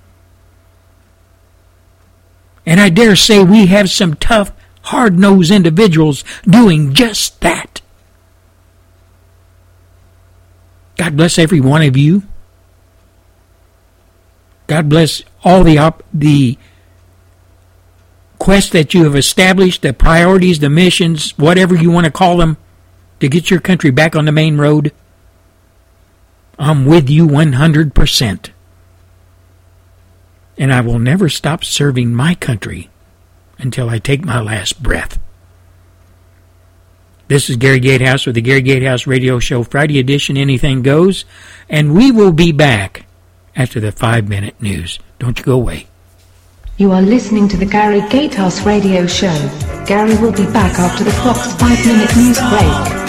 And I dare say we have some tough, hard-nosed individuals doing just that. God bless every one of you. God bless all the op- the quests that you have established, the priorities, the missions, whatever you want to call them, to get your country back on the main road. I'm with you one hundred percent. And I will never stop serving my country until I take my last breath. This is Gary Gatehouse with the Gary Gatehouse Radio Show, Friday edition, Anything Goes, and we will be back after the five-minute news. Don't you go away. You are listening to the Gary Gatehouse Radio Show. Gary will be back after the Fox five-minute news break.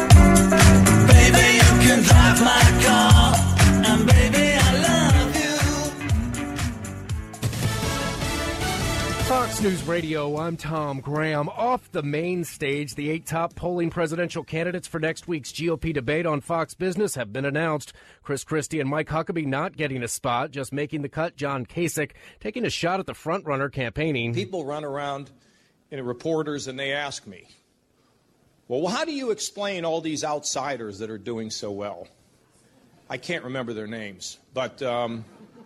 Fox News Radio, I'm Tom Graham. Off the main stage, the eight top polling presidential candidates for next week's G O P debate on Fox Business have been announced. Chris Christie and Mike Huckabee not getting a spot, just making the cut. John Kasich taking a shot at the front-runner campaigning. People run around, you know, reporters, and they ask me, well, how do you explain all these outsiders that are doing so well? I can't remember their names, but... Um,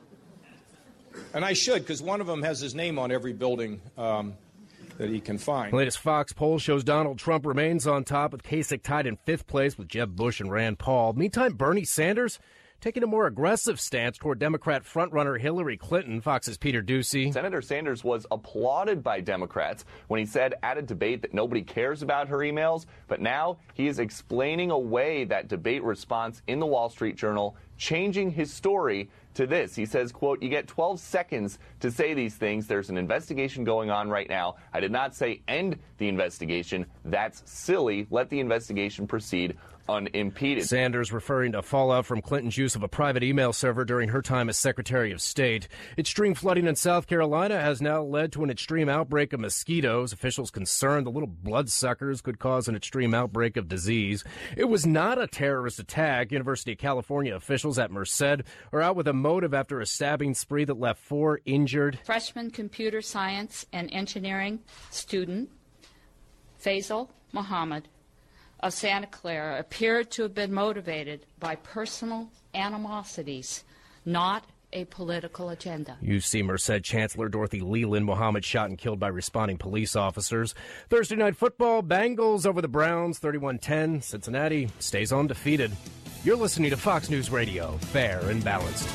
And I should, because one of them has his name on every building um, that he can find. The latest Fox poll shows Donald Trump remains on top, with Kasich tied in fifth place with Jeb Bush and Rand Paul. Meantime, Bernie Sanders taking a more aggressive stance toward Democrat frontrunner Hillary Clinton. Fox's Peter Ducey. Senator Sanders was applauded by Democrats when he said at a debate that nobody cares about her emails, but now he is explaining away that debate response in the Wall Street Journal, changing his story to this. He says, quote, you get twelve seconds to say these things. There's an investigation going on right now. I did not say end the investigation. That's silly. Let the investigation proceed unimpeded. Sanders referring to fallout from Clinton's use of a private email server during her time as Secretary of State. Extreme flooding in South Carolina has now led to an extreme outbreak of mosquitoes. Officials concerned the little bloodsuckers could cause an extreme outbreak of disease. It was not a terrorist attack. University of California officials at Merced are out with a motive after a stabbing spree that left four injured. Freshman computer science and engineering student Faisal Muhammad of Santa Clara appeared to have been motivated by personal animosities, not a political agenda. U C Merced Chancellor Dorothy Leland Muhammad shot and killed by responding police officers. Thursday night football, Bengals over the Browns, thirty-one ten. Cincinnati stays undefeated. You're listening to Fox News Radio, fair and balanced.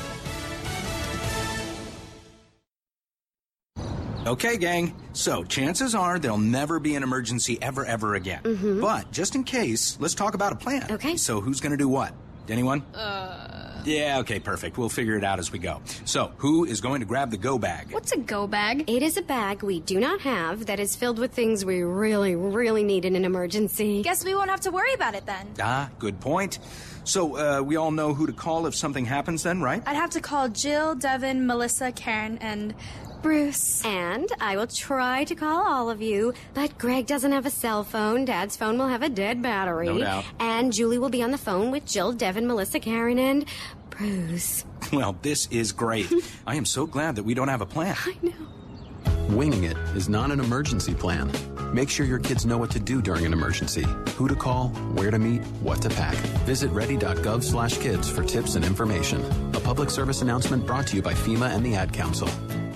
Okay, gang, so chances are there'll never be an emergency ever, ever again. Mm-hmm. But just in case, let's talk about a plan. Okay. So who's going to do what? Anyone? Uh... Yeah, okay, perfect. We'll figure it out as we go. So, who is going to grab the go bag? What's a go bag? It is a bag we do not have that is filled with things we really, really need in an emergency. Guess we won't have to worry about it then. Ah, good point. So, uh, we all know who to call if something happens then, right? I'd have to call Jill, Devin, Melissa, Karen, and Bruce. And I will try to call all of you, but Greg doesn't have a cell phone. Dad's phone will have a dead battery. No doubt. And Julie will be on the phone with Jill, Devin, Melissa, Karen, and Bruce. Well, this is great. I am so glad that we don't have a plan. I know. Winging it is not an emergency plan. Make sure your kids know what to do during an emergency, who to call, where to meet, what to pack. Visit ready.gov slash kids for tips and information. A public service announcement brought to you by FEMA and the Ad Council.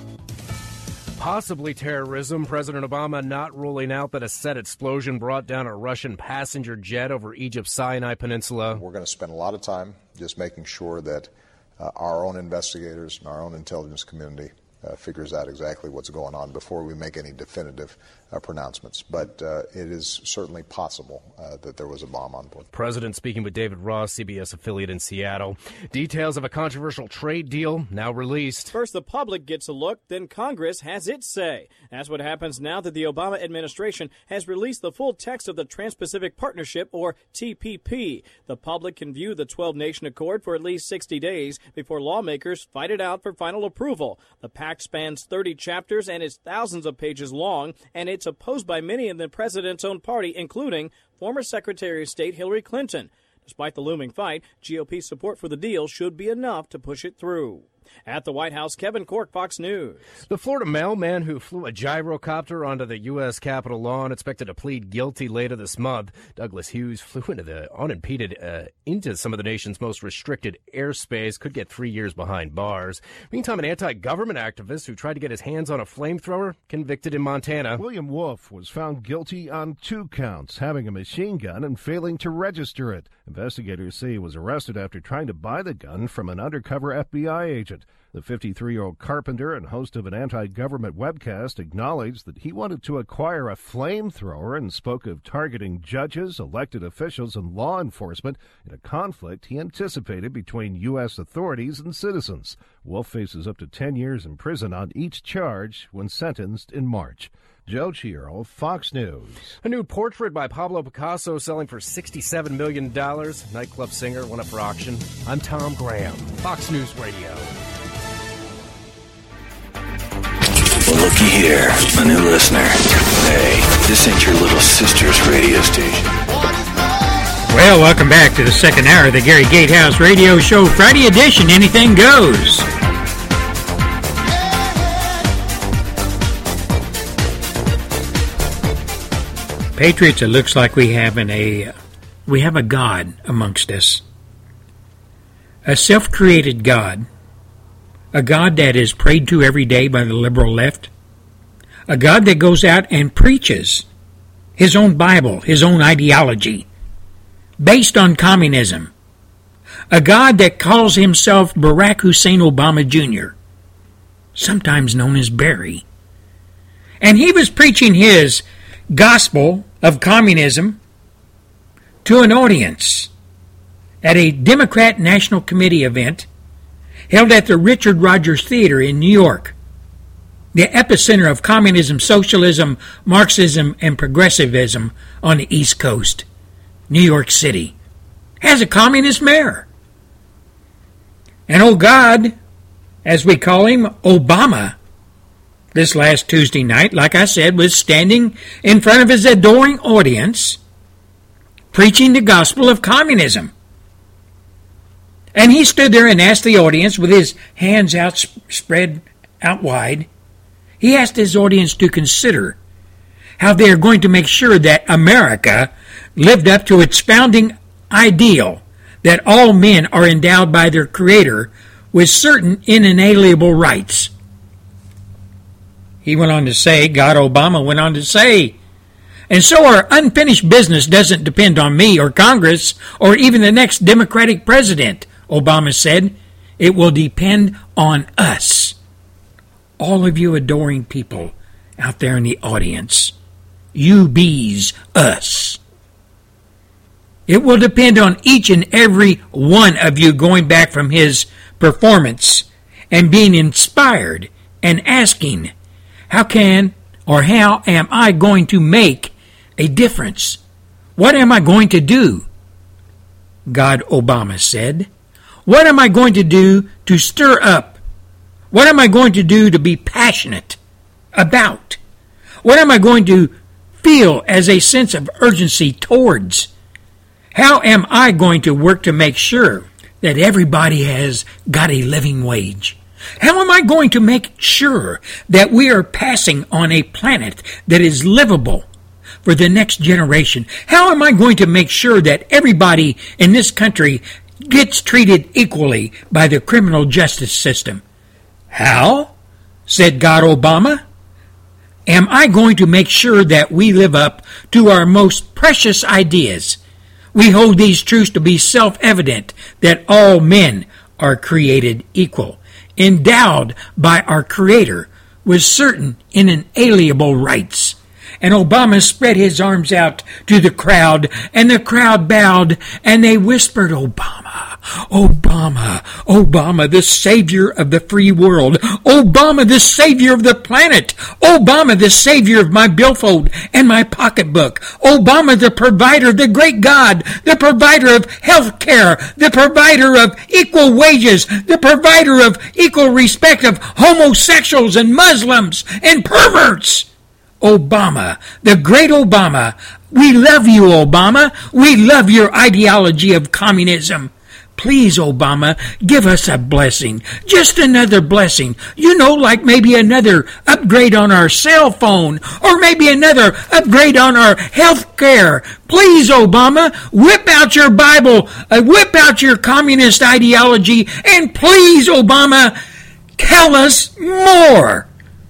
Possibly terrorism. President Obama not ruling out that a set explosion brought down a Russian passenger jet over Egypt's Sinai Peninsula. We're going to spend a lot of time just making sure that uh, our own investigators and our own intelligence community uh, figures out exactly what's going on before we make any definitive uh, pronouncements. But uh, it is certainly possible uh, that there was a bomb on board. President speaking with David Ross, C B S affiliate in Seattle. Details of a controversial trade deal now released. First, the public gets a look, then Congress has its say. That's what happens now that the Obama administration has released the full text of the Trans-Pacific Partnership, or T P P. The public can view the twelve-nation accord for at least sixty days before lawmakers fight it out for final approval. The pact spans thirty chapters and is thousands of pages long, and it's opposed by many in the president's own party, including former Secretary of State Hillary Clinton. Despite the looming fight, G O P support for the deal should be enough to push it through. At the White House, Kevin Cork, Fox News. The Florida mailman who flew a gyrocopter onto the U S Capitol lawn expected to plead guilty later this month. Douglas Hughes flew into the unimpeded uh, into some of the nation's most restricted airspace, could get three years behind bars. Meantime, an anti-government activist who tried to get his hands on a flamethrower convicted in Montana. William Wolf was found guilty on two counts, having a machine gun and failing to register it. Investigators say he was arrested after trying to buy the gun from an undercover F B I agent. The fifty-three-year-old carpenter and host of an anti-government webcast acknowledged that he wanted to acquire a flamethrower and spoke of targeting judges, elected officials, and law enforcement in a conflict he anticipated between U S authorities and citizens. Wolf faces up to ten years in prison on each charge when sentenced in March. Joe Chiaro, Fox News. A new portrait by Pablo Picasso selling for sixty-seven million dollars. Nightclub singer went up for auction. I'm Tom Graham, Fox News Radio. Well, looky here, a new listener. Hey, this ain't your little sister's radio station. Well, welcome back to the second hour of the Gary Gatehouse Radio Show, Friday edition. Anything goes. Patriots, it looks like we have an, a we have a God amongst us, a self-created God, a God that is prayed to every day by the liberal left, a God that goes out and preaches his own Bible, his own ideology, based on communism, a God that calls himself Barack Hussein Obama Junior, sometimes known as Barry. And he was preaching his gospel of communism to an audience at a Democrat National Committee event held at the Richard Rogers Theater in New York, the epicenter of communism, socialism, Marxism, and progressivism on the East Coast. New York City has a communist mayor. And oh God, as we call him, Obama, this last Tuesday night, like I said, was standing in front of his adoring audience, preaching the gospel of communism. And he stood there and asked the audience, with his hands out spread out wide, he asked his audience to consider how they are going to make sure that America lived up to its founding ideal that all men are endowed by their Creator with certain inalienable rights. He went on to say, God Obama went on to say, and so our unfinished business doesn't depend on me or Congress or even the next Democratic president, Obama said. It will depend on us. All of you adoring people out there in the audience. You bees, us. It will depend on each and every one of you going back from his performance and being inspired and asking, how can or how am I going to make a difference? What am I going to do? God Obama said. What am I going to do to stir up? What am I going to do to be passionate about? What am I going to feel as a sense of urgency towards? How am I going to work to make sure that everybody has got a living wage? How am I going to make sure that we are passing on a planet that is livable for the next generation? How am I going to make sure that everybody in this country gets treated equally by the criminal justice system? How, said God Obama, am I going to make sure that we live up to our most precious ideas? We hold these truths to be self-evident, that all men are created equal, endowed by our Creator with certain inalienable rights. And Obama spread his arms out to the crowd, and the crowd bowed, and they whispered, Obama, Obama, Obama, the savior of the free world. Obama, the savior of the planet. Obama, the savior of my billfold and my pocketbook. Obama, the provider, the great God, the provider of health care, the provider of equal wages, the provider of equal respect of homosexuals and Muslims and perverts. Obama, the great Obama. We love you, Obama. We love your ideology of communism. Please, Obama, give us a blessing. Just another blessing. You know, like maybe another upgrade on our cell phone, or maybe another upgrade on our health care. Please, Obama, whip out your Bible, uh, whip out your communist ideology, and please, Obama, tell us more.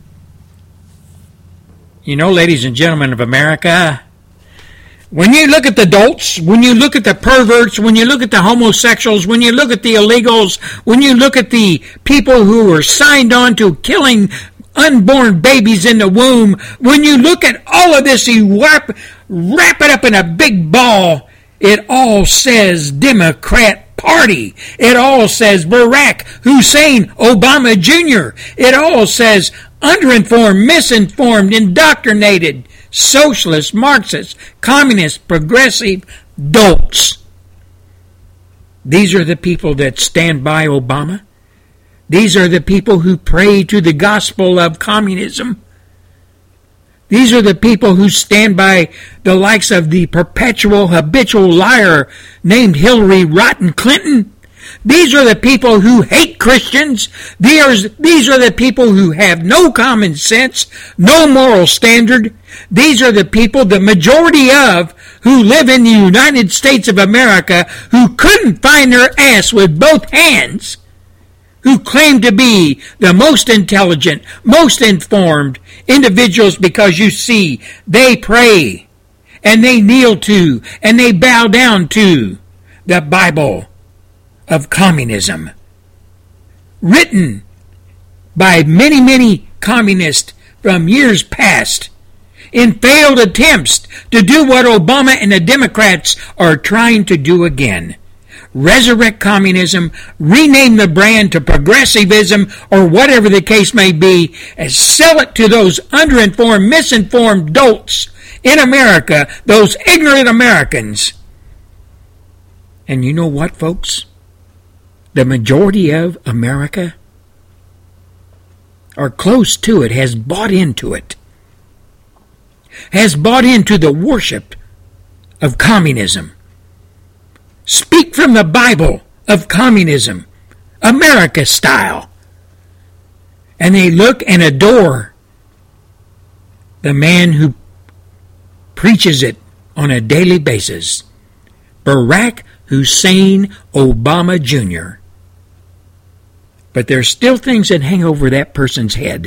You know, ladies and gentlemen of America, when you look at the dolts, when you look at the perverts, when you look at the homosexuals, when you look at the illegals, when you look at the people who are signed on to killing unborn babies in the womb, when you look at all of this, you wrap, wrap it up in a big ball, it all says Democrat Party. It all says Barack Hussein Obama Junior It all says underinformed, misinformed, indoctrinated, socialist, Marxist, communist, progressive dolts. These are the people that stand by Obama. These are the people who pray to the gospel of communism. These are the people who stand by the likes of the perpetual habitual liar named Hillary Rotten Clinton. These are the people who hate Christians. These are, these are the people who have no common sense, no moral standard. These are the people, the majority of, who live in the United States of America, who couldn't find their ass with both hands, who claim to be the most intelligent, most informed individuals because you see, they pray, and they kneel to, and they bow down to the Bible of communism, written by many, many communists from years past in failed attempts to do what Obama and the Democrats are trying to do again. Resurrect communism, rename the brand to progressivism, or whatever the case may be, and sell it to those underinformed, misinformed dolts in America, those ignorant Americans. And you know what, folks? The majority of America, or close to it, has bought into it, has bought into the worship of communism. Speak from the Bible of communism, America style. And they look and adore the man who preaches it on a daily basis, Barack Hussein Obama Junior But there's still things that hang over that person's head.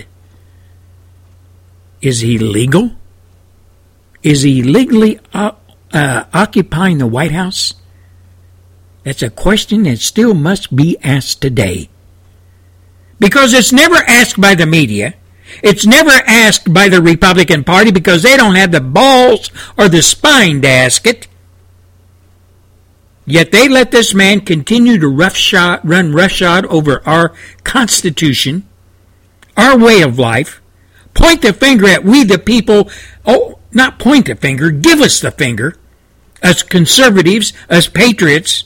Is he legal? Is he legally uh, uh, occupying the White House? That's a question that still must be asked today. Because it's never asked by the media. It's never asked by the Republican Party because they don't have the balls or the spine to ask it. Yet they let this man continue to roughshod, run roughshod over our Constitution, our way of life, point the finger at we the people. Oh, not point the finger, give us the finger, us conservatives, us patriots,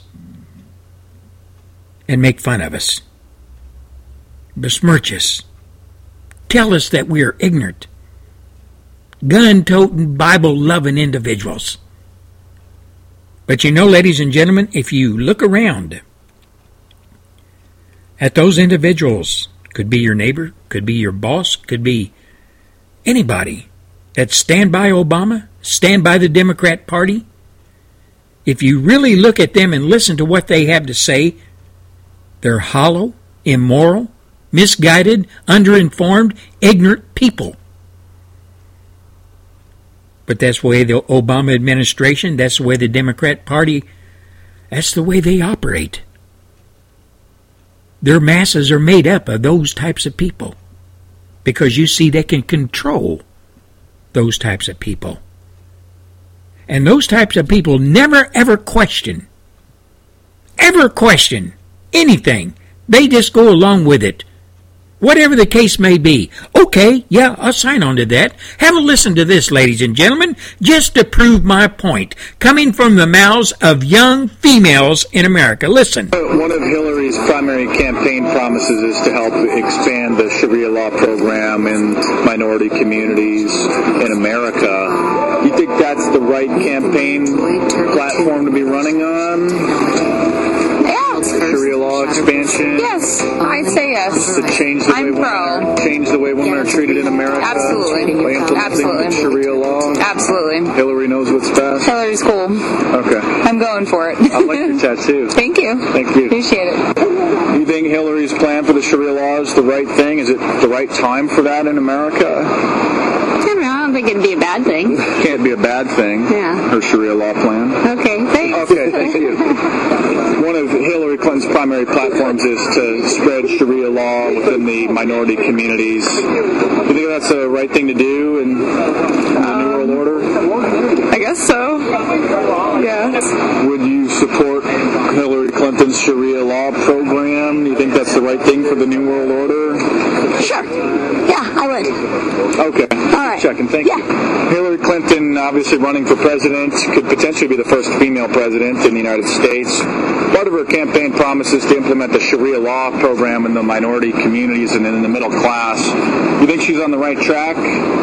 and make fun of us, besmirch us, tell us that we are ignorant, gun-toting, Bible-loving individuals. But you know, ladies and gentlemen, if you look around at those individuals, could be your neighbor, could be your boss, could be anybody that stand by Obama, stand by the Democrat Party, if you really look at them and listen to what they have to say, they're hollow, immoral, misguided, underinformed, ignorant people. But that's the way the Obama administration, that's the way the Democrat Party, that's the way they operate. Their masses are made up of those types of people. Because you see, they can control those types of people. And those types of people never ever question, ever question anything. They just go along with it. Whatever the case may be. Okay, yeah, I'll sign on to that. Have a listen to this, ladies and gentlemen, just to prove my point. Coming from the mouths of young females in America. Listen. One of Hillary's primary campaign promises is to help expand the Sharia law program in minority communities in America. You think that's the right campaign platform to be running on? Sharia law expansion? Yes, I'd say yes. To change the I'm way pro. Women are, change the way women are treated in America? Absolutely. By implementing Absolutely. Sharia law? Absolutely. Hillary knows what's best? Hillary's cool. Okay. I'm going for it. I like your tattoo. Thank you. Thank you. Appreciate it. Do you think Hillary's plan for the Sharia law is the right thing? Is it the right time for that in America? I don't know. I don't think it'd be a bad thing. Can't be a bad thing. Yeah. Her Sharia law plan. Okay, thanks. Okay, thank you. One of Hillary Clinton's primary platforms is to spread Sharia law within the minority communities. Do you think that's the right thing to do in, in the um, New World Order? I guess so. Yeah. Would you support Hillary Clinton's Sharia law program? Do you think that's the right thing for the New World Order? Sure. Yeah, I would. Okay. All right. Checking. Thank yeah. you. Hillary Clinton, obviously running for president, could potentially be the first female president in the United States. Part of her campaign promises to implement the Sharia law program in the minority communities and in the middle class. You think she's on the right track?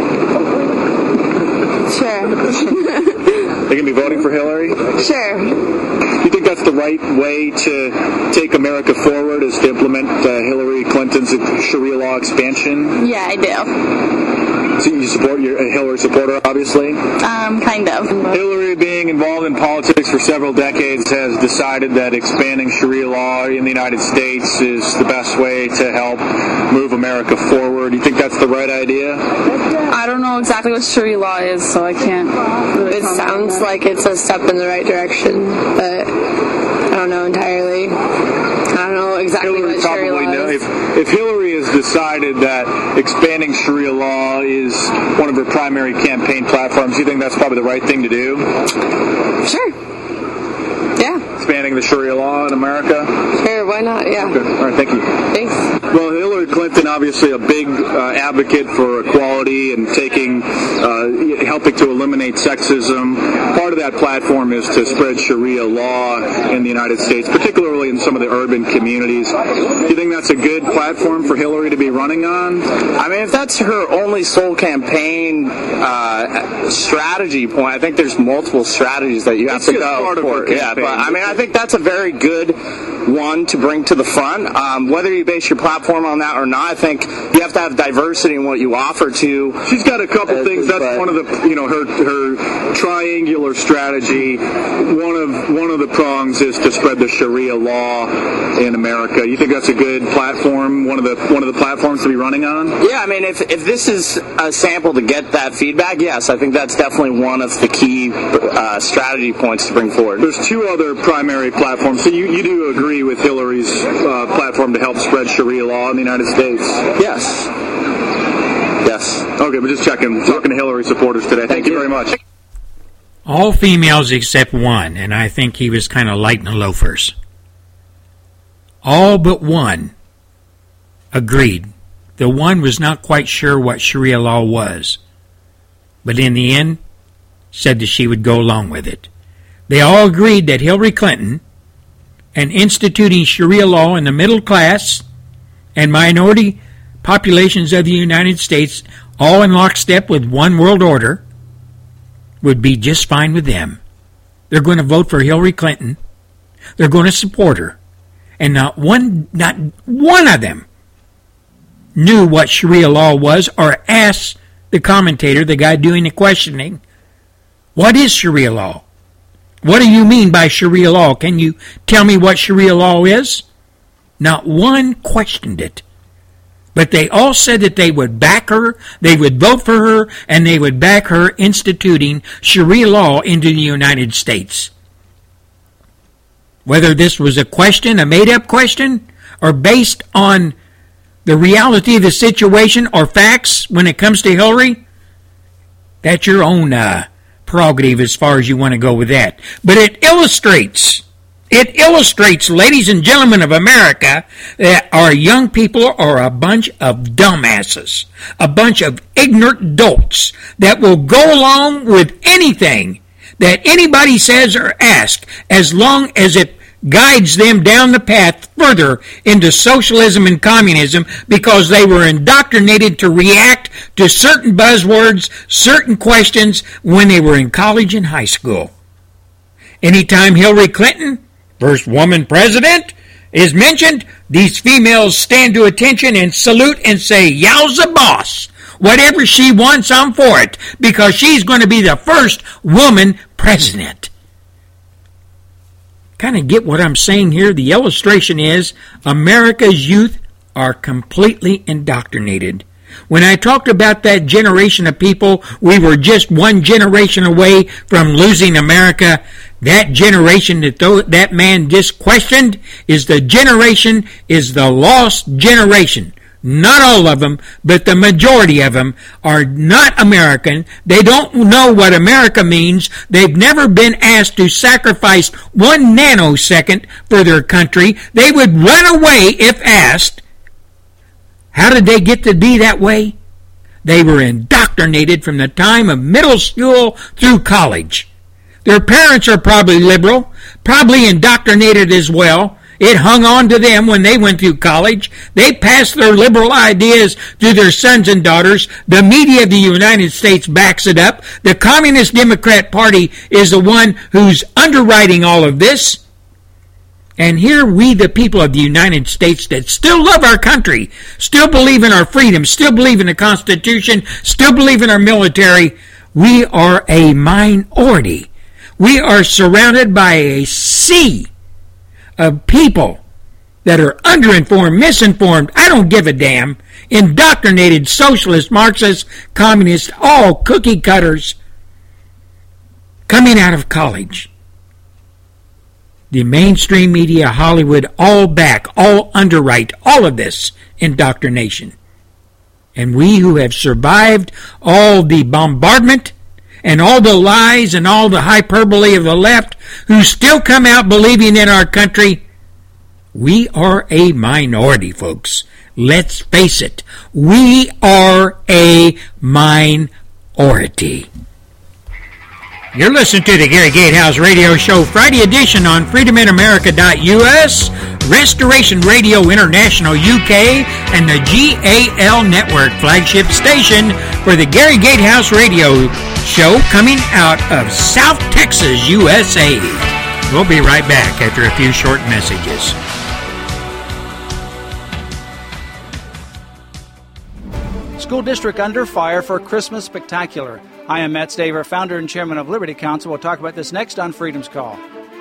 Sure. They're going to be voting for Hillary? Sure. Do you think that's the right way to take America forward, is to implement uh, Hillary Clinton's Sharia law expansion? Yeah, I do. So you support your a Hillary supporter, obviously? Um, kind of. Hillary, being involved in politics for several decades, has decided that expanding Sharia law in the United States is the best way to help move America forward. Do you think that's the right idea? I don't know exactly what Sharia law is, so I can't really It sounds like it's a step in the right direction, but I don't know entirely. I don't know exactly Hillary what Sharia probably law know, is. if, if Hillary has decided that expanding Sharia law is one of her primary campaign platforms, do you think that's probably the right thing to do? Sure. Yeah. Expanding the Sharia law in America? Sure, why not? Yeah. Okay. All right, thank you. Thanks. Well, Hillary Clinton, obviously a big uh, advocate for equality and taking, uh, helping to eliminate sexism. Part of that platform is to spread Sharia law in the United States, particularly in some of the urban communities. Do you think that's a good platform for Hillary to be running on? I mean, if that's her only sole campaign uh, strategy point, I think there's multiple strategies that you have It's to just go part of for. her Yeah, campaign. but I mean, I think that's a very good one to bring to the front. Um, whether you base your platform on that or not, I think you have to have diversity in what you offer to. She's got a couple uh, things. That's but- one of the, you know, her her triangular strategy. One of one of the prongs is to spread the Sharia law in America. You think that's a good platform? One of the one of the platforms to be running on? Yeah, I mean, if if this is a sample to get that feedback, yes, I think that's definitely one of the key uh, strategy points to bring forward. There's two other primary platforms. So you, you do agree with Hillary's uh, platform to help spread Sharia law in the United States? Yes. Yes. Okay, but just checking. Talking to Hillary supporters today. Thank, Thank you you. very much. All females except one, and I think he was kind of light in the loafers. All but one agreed. The one was not quite sure what Sharia law was, but in the end said that she would go along with it. They all agreed that Hillary Clinton and instituting Sharia law in the middle class and minority populations of the United States, all in lockstep with one world order, would be just fine with them. They're going to vote for Hillary Clinton. They're going to support her. And not one, not one of them knew what Sharia law was or asked the commentator, the guy doing the questioning, what is Sharia law? What do you mean by Sharia law? Can you tell me what Sharia law is? Not one questioned it. But they all said that they would back her, they would vote for her, and they would back her instituting Sharia law into the United States. Whether this was a question, a made-up question, or based on the reality of the situation or facts when it comes to Hillary, that's your own uh, prerogative as far as you want to go with that. But it illustrates, it illustrates, ladies and gentlemen of America, that our young people are a bunch of dumbasses, a bunch of ignorant dolts that will go along with anything that anybody says or asks as long as it guides them down the path further into socialism and communism, because they were indoctrinated to react to certain buzzwords, certain questions when they were in college and high school. Anytime Hillary Clinton, first woman president, is mentioned, these females stand to attention and salute and say, "Yowza boss. Whatever she wants, I'm for it," because she's going to be the first woman president. Kind of get what I'm saying here? The illustration is America's youth are completely indoctrinated. When I talked about that generation of people, we were just one generation away from losing America. That generation that th- that man just questioned is the generation, is the lost generation. Not all of them, but the majority of them are not American. They don't know what America means. They've never been asked to sacrifice one nanosecond for their country. They would run away if asked. How did they get to be that way? They were indoctrinated from the time of middle school through college. Their parents are probably liberal, probably indoctrinated as well. It hung on to them when they went through college. They passed their liberal ideas to their sons and daughters. The media of the United States backs it up. The Communist Democrat Party is the one who's underwriting all of this. And here we, the people of the United States that still love our country, still believe in our freedom, still believe in the Constitution, still believe in our military, we are a minority. We are surrounded by a sea of people that are underinformed, misinformed, I don't give a damn, indoctrinated, socialist, Marxist, communist, all cookie cutters coming out of college. The mainstream media, Hollywood, all back, all underwrite all of this indoctrination. And we who have survived all the bombardment and all the lies and all the hyperbole of the left, who still come out believing in our country, we are a minority, folks. Let's face it. We are a minority. You're listening to the Gary Gatehouse Radio Show, Friday edition on freedom in america dot u s, Restoration Radio International U K, and the G A L Network flagship station for the Gary Gatehouse Radio Show, coming out of South Texas, U S A. We'll be right back after a few short messages. School district under fire for Christmas spectacular. I am Matt Staver, founder and chairman of Liberty Counsel. We'll talk about this next on Freedom's Call.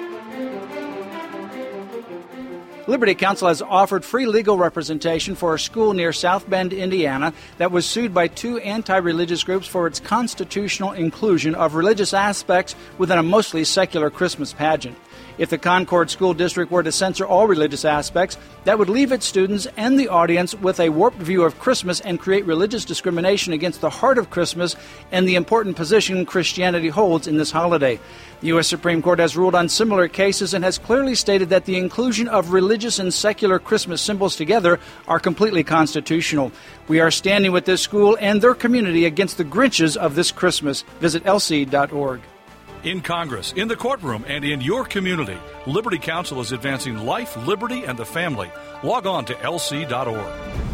Liberty Counsel has offered free legal representation for a school near South Bend, Indiana, that was sued by two anti-religious groups for its constitutional inclusion of religious aspects within a mostly secular Christmas pageant. If the Concord School District were to censor all religious aspects, that would leave its students and the audience with a warped view of Christmas and create religious discrimination against the heart of Christmas and the important position Christianity holds in this holiday. The U S Supreme Court has ruled on similar cases and has clearly stated that the inclusion of religious and secular Christmas symbols together are completely constitutional. We are standing with this school and their community against the Grinches of this Christmas. Visit L C dot org. In Congress, in the courtroom, and in your community, Liberty Counsel is advancing life, liberty, and the family. Log on to L C dot org.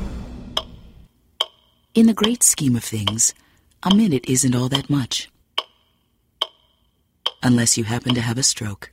In the great scheme of things, a minute isn't all that much. Unless you happen to have a stroke.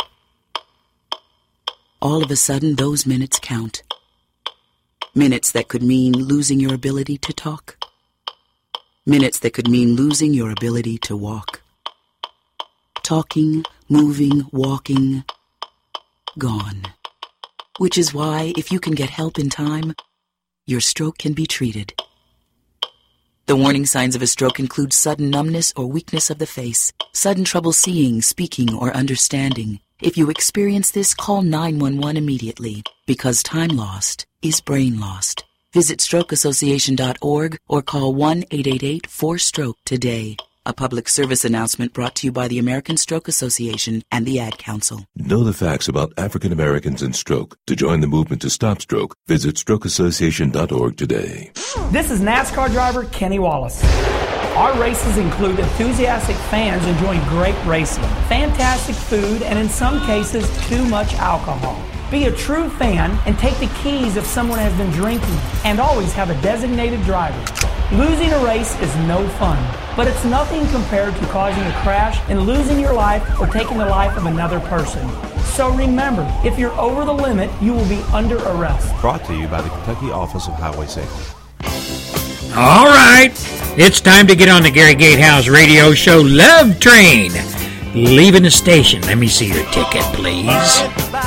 All of a sudden, those minutes count. Minutes that could mean losing your ability to talk. Minutes that could mean losing your ability to walk. Talking, moving, walking, gone. Which is why, if you can get help in time, your stroke can be treated. The warning signs of a stroke include sudden numbness or weakness of the face, sudden trouble seeing, speaking, or understanding. If you experience this, call nine one one immediately, because time lost is brain lost. Visit stroke association dot org or call one eight eight eight four stroke today. A public service announcement brought to you by the American Stroke Association and the Ad Council. Know the facts about African Americans and stroke. To join the movement to stop stroke, visit stroke association dot org today. This is NASCAR driver Kenny Wallace. Our races include enthusiastic fans enjoying great racing, fantastic food, and in some cases, too much alcohol. Be a true fan and take the keys if someone has been drinking, and always have a designated driver. Losing a race is no fun, but it's nothing compared to causing a crash and losing your life or taking the life of another person. So remember, if you're over the limit, you will be under arrest. Brought to you by the Kentucky Office of Highway Safety. All right, it's time to get on the Gary Gatehouse radio show Love Train. Leaving the station. Let me see your ticket, please.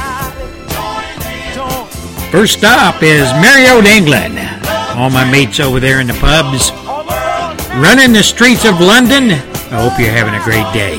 First stop is Marriott, England. All my mates over there in the pubs. Running the streets of London. I hope you're having a great day.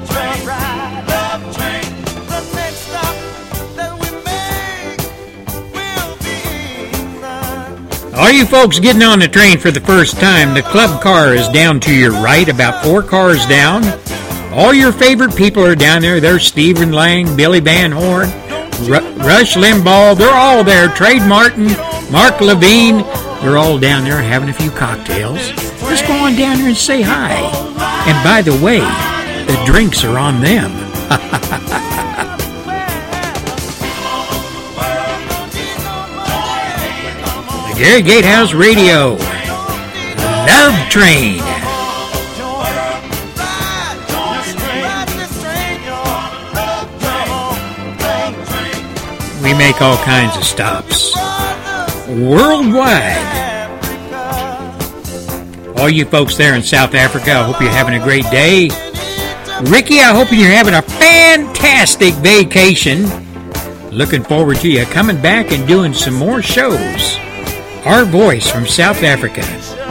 All you folks getting on the train for the first time, the club car is down to your right, about four cars down. All your favorite people are down there. There's Stephen Lang, Billy Van Horn, R- Rush Limbaugh. They're all there. Trade Martin, Mark Levine. They're all down there having a few cocktails. Just go on down there and say hi. And by the way, the drinks are on them. The Gary Gatehouse Radio Love Train. We make all kinds of stops worldwide. All you folks there in South Africa, I hope you're having a great day. Ricky, I hope you're having a fantastic vacation. Looking forward to you coming back and doing some more shows. Our voice from South Africa.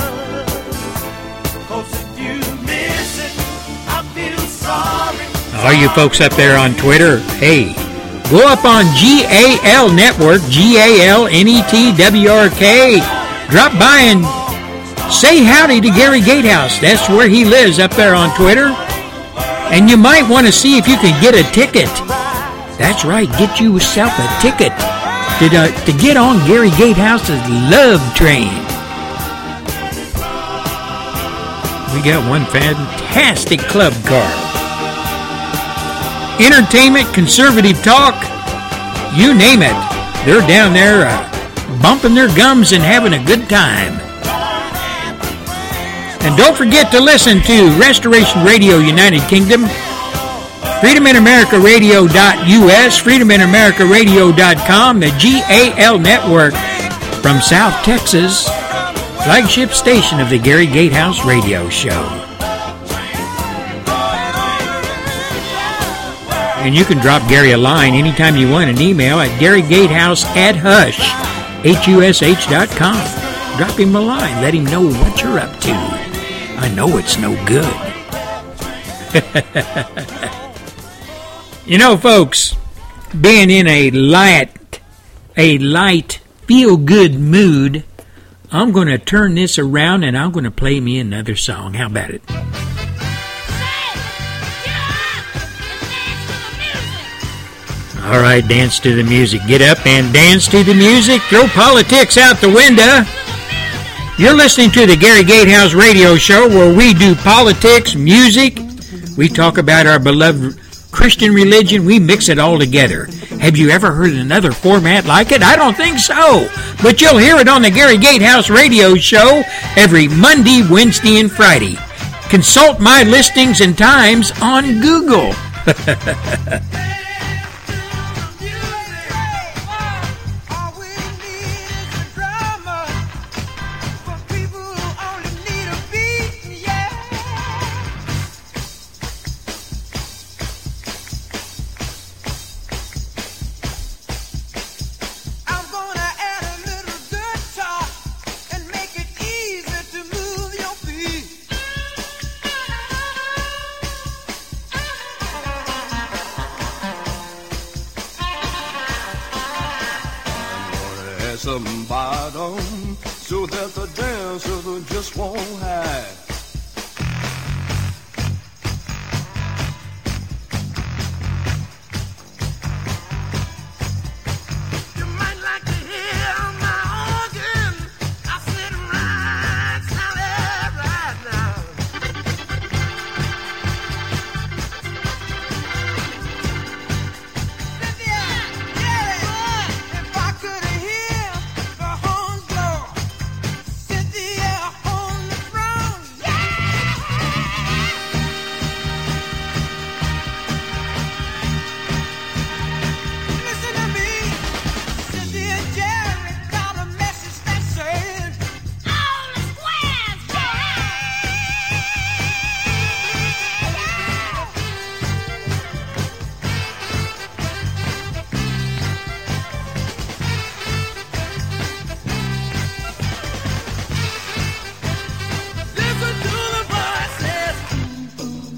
All you folks up there on Twitter, hey, go up on G A L Network, G A L N E T W R K. Drop by and say howdy to Gary Gatehouse. That's where he lives, up there on Twitter. And you might want to see if you can get a ticket. That's right, get yourself a ticket to, uh, to get on Gary Gatehouse's Love Train. We got one fantastic club car. Entertainment, conservative talk, you name it. They're down there uh, bumping their gums and having a good time. And don't forget to listen to Restoration Radio United Kingdom, Freedom in America Radio dot U S, Freedom in America Radio dot com, the G A L Network from South Texas, flagship station of the Gary Gatehouse Radio Show. And you can drop Gary a line anytime you want, an email at Gary Gatehouse at Hush, H U S H dot com. Drop him a line. Let him know what you're up to. I know it's no good. You know, folks, being in a light, a light, feel-good mood, I'm going to turn this around and I'm going to play me another song. How about it? All right, dance to the music. Get up and dance to the music. Throw politics out the window. You're listening to the Gary Gatehouse Radio Show, where we do politics, music. We talk about our beloved Christian religion. We mix it all together. Have you ever heard another format like it? I don't think so. But you'll hear it on the Gary Gatehouse Radio Show every Monday, Wednesday, and Friday. Consult my listings and times on Google. Some bottom so that the dancer just won't hide. You might like to hear my organ. I sit right solid right now. Cynthia, yeah, if I could hear the horns blow, Cynthia on the throne, yeah. Listen to me, Cynthia Jerry got a message that said, all the squares, listen to the voices.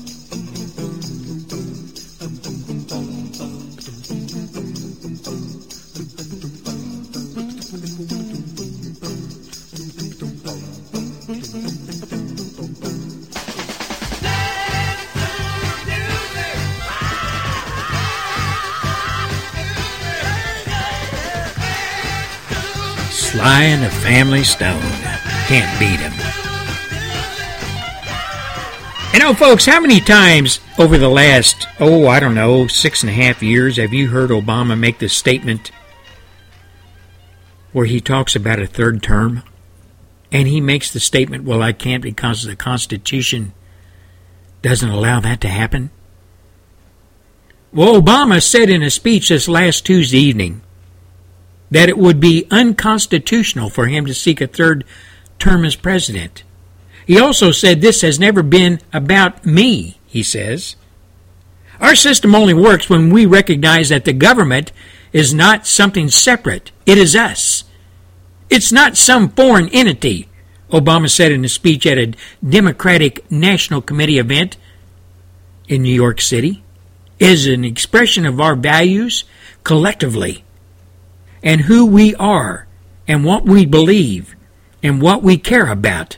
Sly and the Family Stone. Can't beat him. You know, folks, how many times over the last, oh, I don't know, six and a half years have you heard Obama make this statement where he talks about a third term? And he makes the statement, well, I can't because the Constitution doesn't allow that to happen. Well, Obama said in a speech this last Tuesday evening that it would be unconstitutional for him to seek a third term as president. He also said this has never been about me, he says. Our system only works when we recognize that the government is not something separate. It is us. It's not some foreign entity, Obama said in a speech at a Democratic National Committee event in New York City. It is an expression of our values collectively and who we are and what we believe and what we care about.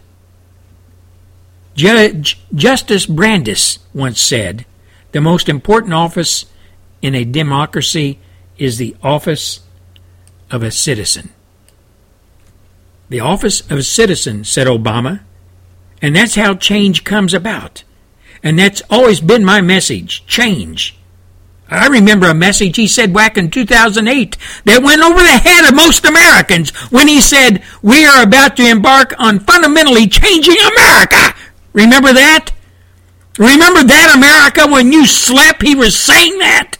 Judge Justice Brandeis once said, the most important office in a democracy is the office of a citizen. The office of a citizen, said Obama, and that's how change comes about. And that's always been my message, change. I remember a message he said back in two thousand eight that went over the head of most Americans when he said, we are about to embark on fundamentally changing America. Remember that? Remember that, America, when you slept, he was saying that?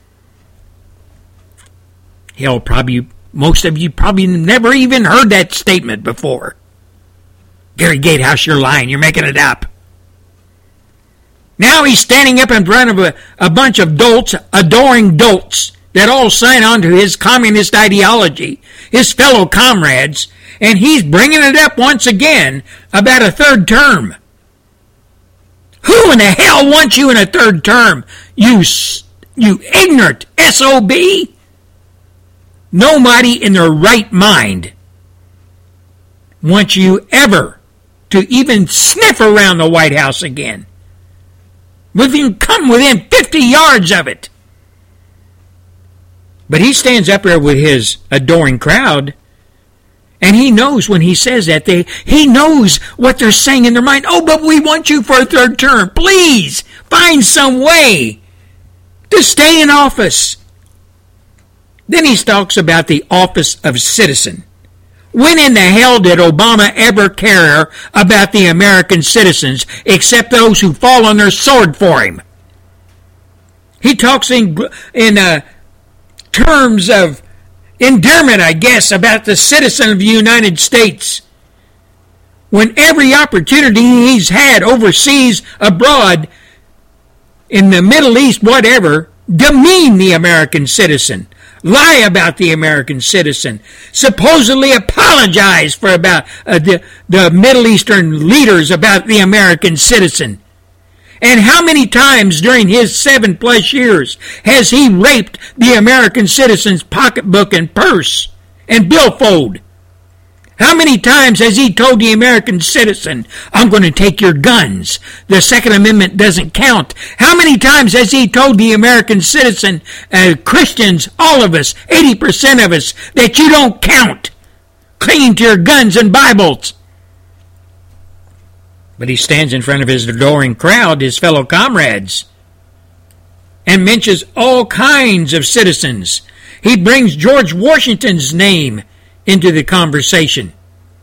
Hell, probably, most of you probably never even heard that statement before. Gary Gatehouse, you're lying. You're making it up. Now he's standing up in front of a, a bunch of dolts, adoring dolts, that all sign on to his communist ideology, his fellow comrades, and he's bringing it up once again about a third term. Who in the hell wants you in a third term? You You ignorant S O B! Nobody in their right mind wants you ever to even sniff around the White House again. We've even come within fifty yards of it. But he stands up there with his adoring crowd, and he knows when he says that, they he knows what they're saying in their mind. Oh, but we want you for a third term. Please, find some way to stay in office. Then he talks about the office of citizen. When in the hell did Obama ever care about the American citizens except those who fall on their sword for him? He talks in, in uh, terms of endearment, I guess, about the citizen of the United States. When every opportunity he's had overseas, abroad, in the Middle East, whatever, demean the American citizen. Lie about the American citizen, supposedly apologize for about uh, the, the Middle Eastern leaders about the American citizen. And how many times during his seven plus years has he raped the American citizen's pocketbook and purse and billfold? How many times has he told the American citizen, I'm going to take your guns. The Second Amendment doesn't count. How many times has he told the American citizen, uh, Christians, all of us, eighty percent of us, that you don't count? Cling to your guns and Bibles. But he stands in front of his adoring crowd, his fellow comrades, and mentions all kinds of citizens. He brings George Washington's name into the conversation.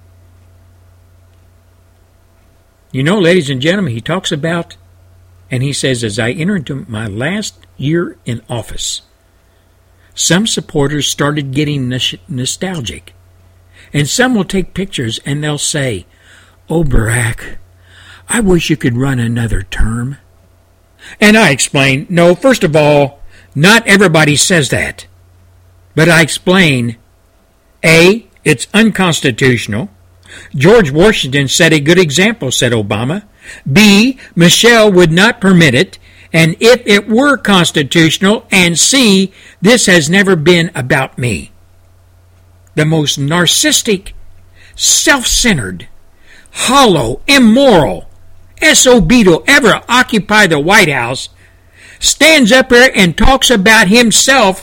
You know, ladies and gentlemen, he talks about, and he says, as I enter into my last year in office, some supporters started getting nostalgic. And some will take pictures and they'll say, oh, Barack, I wish you could run another term. And I explain, no, first of all, not everybody says that. But I explain, A, it's unconstitutional. George Washington set a good example, said Obama. B, Michelle would not permit it. And if it were constitutional. And C, this has never been about me. The most narcissistic, self-centered, hollow, immoral S O B to ever occupy the White House stands up there and talks about himself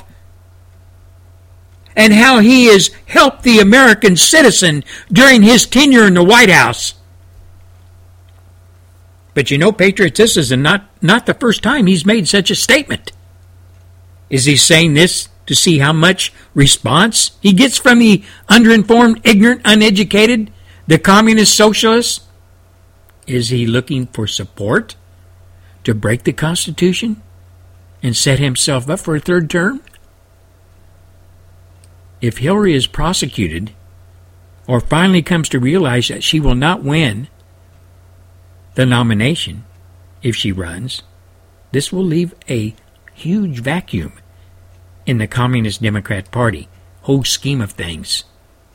and how he has helped the American citizen during his tenure in the White House. But you know, Patriots, this is not, not the first time he's made such a statement. Is he saying this to see how much response he gets from the underinformed, ignorant, uneducated, the communist socialists? Is he looking for support to break the Constitution and set himself up for a third term? If Hillary is prosecuted or finally comes to realize that she will not win the nomination if she runs, this will leave a huge vacuum in the Communist Democrat Party whole scheme of things.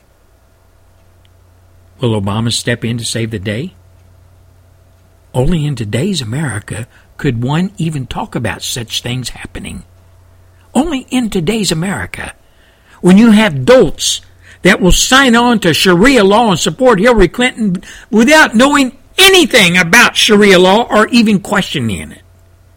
Will Obama step in to save the day? Only in today's America could one even talk about such things happening. Only in today's America, when you have dolts that will sign on to Sharia law and support Hillary Clinton without knowing anything about Sharia law or even questioning it.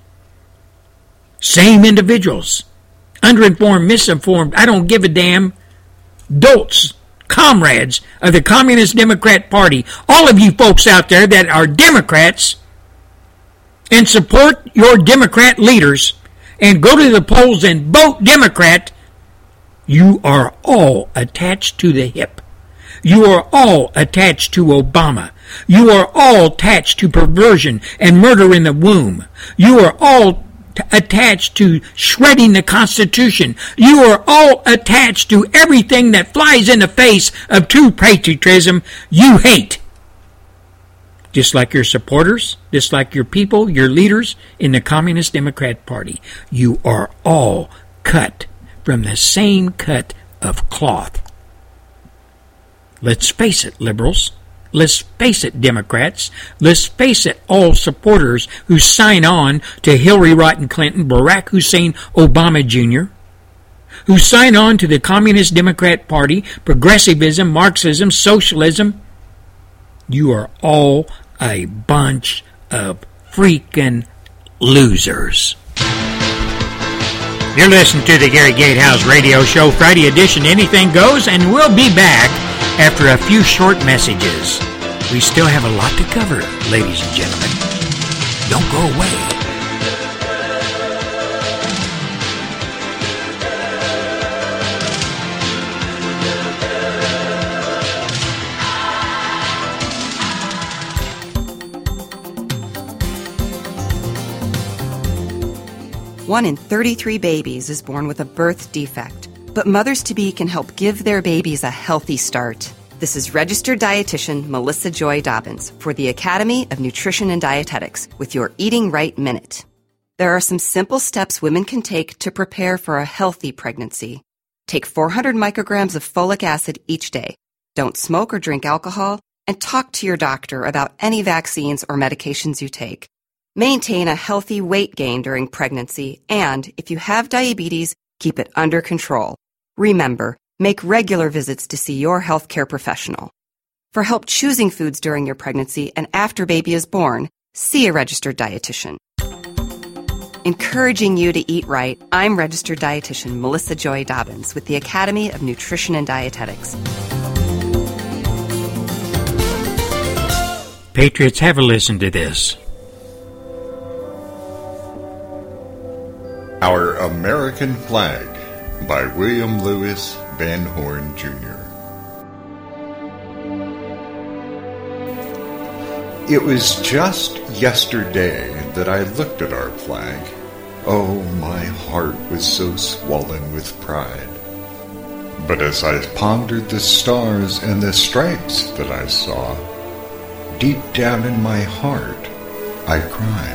Same individuals, underinformed, misinformed, I don't give a damn, dolts, comrades of the Communist Democrat Party, all of you folks out there that are Democrats and support your Democrat leaders and go to the polls and vote Democrat, you are all attached to the hip. You are all attached to Obama. You are all attached to perversion and murder in the womb. You are all t- attached to shredding the Constitution. You are all attached to everything that flies in the face of true patriotism you hate. Just like your supporters, just like your people, your leaders in the Communist Democrat Party. You are all cut from the same cut of cloth. Let's face it, liberals. let's face it, Democrats, let's face it, all supporters who sign on to Hillary Rodham Clinton, Barack Hussein Obama Junior, who sign on to the Communist Democrat Party, progressivism, Marxism, socialism. You are all a bunch of freaking losers. You're listening to the Gary Gatehouse Radio Show, Friday edition. Anything goes, and we'll be back after a few short messages. We still have a lot to cover, ladies and gentlemen. Don't go away. One in thirty-three babies is born with a birth defect, but mothers-to-be can help give their babies a healthy start. This is registered dietitian Melissa Joy Dobbins for the Academy of Nutrition and Dietetics with your Eating Right Minute. There are some simple steps women can take to prepare for a healthy pregnancy. Take four hundred micrograms of folic acid each day. Don't smoke or drink alcohol, and talk to your doctor about any vaccines or medications you take. Maintain a healthy weight gain during pregnancy, and if you have diabetes, keep it under control. Remember, make regular visits to see your healthcare professional. For help choosing foods during your pregnancy and after baby is born, see a registered dietitian. Encouraging you to eat right, I'm registered dietitian Melissa Joy Dobbins with the Academy of Nutrition and Dietetics. Patriots, have a listen to this. Our American Flag by William Lewis Van Horn, Junior It was just yesterday that I looked at our flag. Oh, my heart was so swollen with pride. But as I pondered the stars and the stripes that I saw, deep down in my heart, I cried.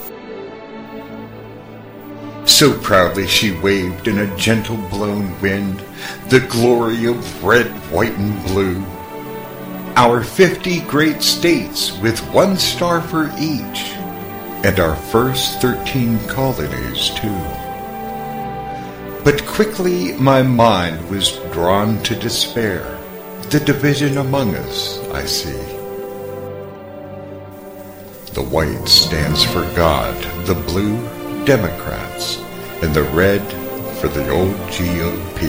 So proudly she waved in a gentle blown wind, the glory of red, white, and blue. Our fifty great states with one star for each, and our first thirteen colonies too. But quickly my mind was drawn to despair. The division among us, I see. The white stands for God, the blue, Democrats, and the red for the old G O P.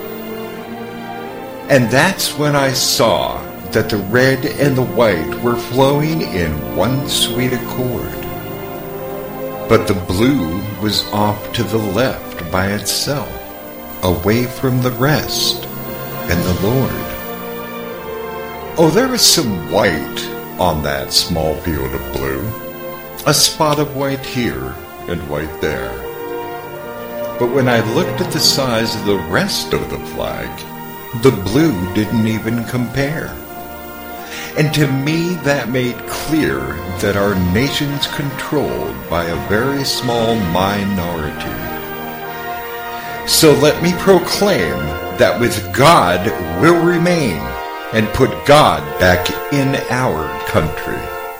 And that's when I saw that the red and the white were flowing in one sweet accord. But the blue was off to the left by itself, away from the rest and the Lord. Oh, there was some white on that small field of blue, a spot of white here and white there. But when I looked at the size of the rest of the flag, the blue didn't even compare. And to me that made clear that our nation's controlled by a very small minority. So let me proclaim that with God we'll remain and put God back in our country.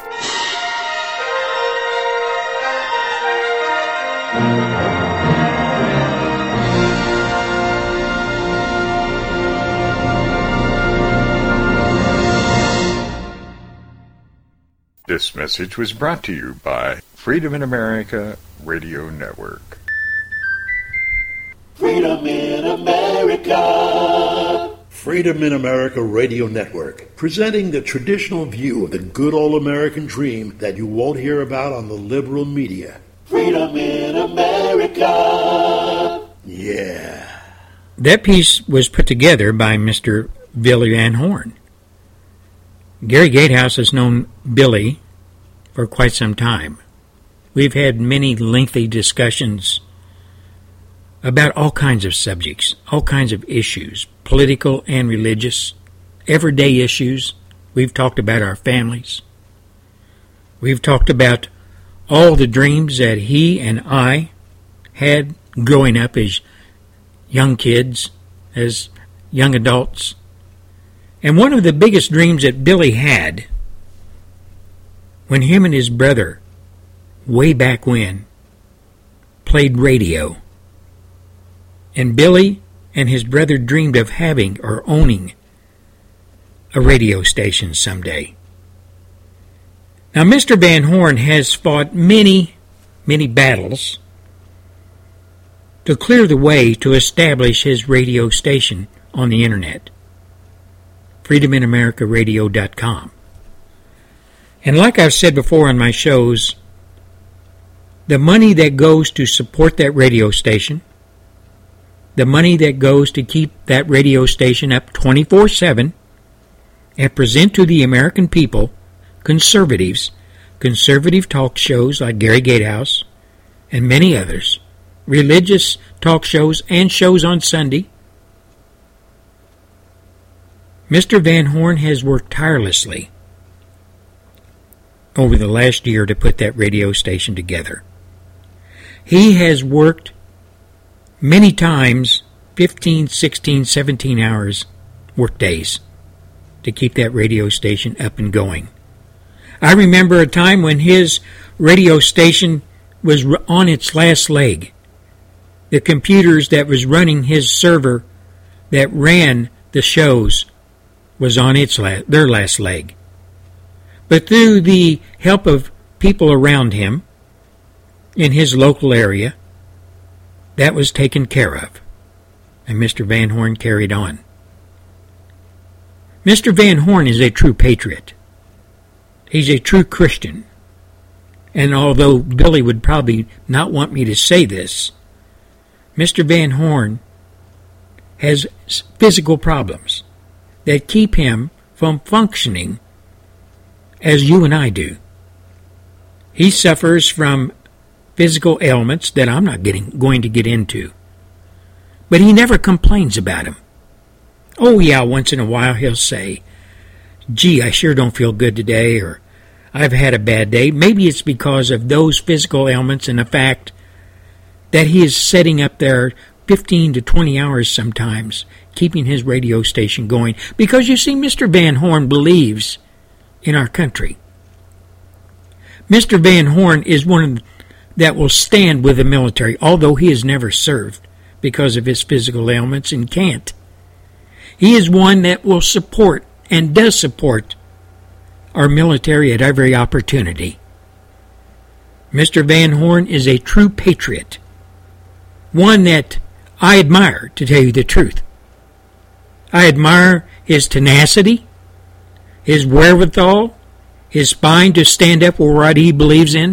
This message was brought to you by Freedom in America Radio Network. Freedom in America. Freedom in America Radio Network, presenting the traditional view of the good old American dream that you won't hear about on the liberal media. Freedom in America. Yeah. That piece was put together by Mister Billy Van Horn. Gary Gatehouse has known Billy for quite some time. We've had many lengthy discussions about all kinds of subjects, all kinds of issues, political and religious, everyday issues. We've talked about our families. We've talked about all the dreams that he and I had growing up as young kids, as young adults. And one of the biggest dreams that Billy had when him and his brother, way back when, played radio. And Billy and his brother dreamed of having or owning a radio station someday. Now, Mister Van Horn has fought many, many battles to clear the way to establish his radio station on the internet, freedom in america radio dot com. And like I've said before on my shows, the money that goes to support that radio station, the money that goes to keep that radio station up twenty-four seven and present to the American people conservatives, conservative talk shows like Gary Gatehouse and many others, religious talk shows and shows on Sunday. Mister Van Horn has worked tirelessly over the last year to put that radio station together. He has worked many times, fifteen, sixteen, seventeen hours work days to keep that radio station up and going. I remember a time when his radio station was on its last leg. The computers that was running his server that ran the shows was on its la- their last leg. But through the help of people around him in his local area, that was taken care of, and Mister Van Horn carried on. Mister Van Horn is a true patriot. He's a true Christian. And although Billy would probably not want me to say this, Mister Van Horn has physical problems that keep him from functioning as you and I do. He suffers from physical ailments that I'm not getting, going to get into. But he never complains about them. Oh yeah, once in a while he'll say, gee, I sure don't feel good today, or I've had a bad day. Maybe it's because of those physical ailments and the fact that he is setting up there fifteen to twenty hours sometimes, keeping his radio station going. Because you see, Mister Van Horn believes in our country. Mister Van Horn is one of the, that will stand with the military, although he has never served because of his physical ailments and can't. He is one that will support and does support our military at every opportunity. Mister Van Horn is a true patriot, one that I admire, to tell you the truth. I admire his tenacity, his wherewithal, his spine to stand up for what he believes in.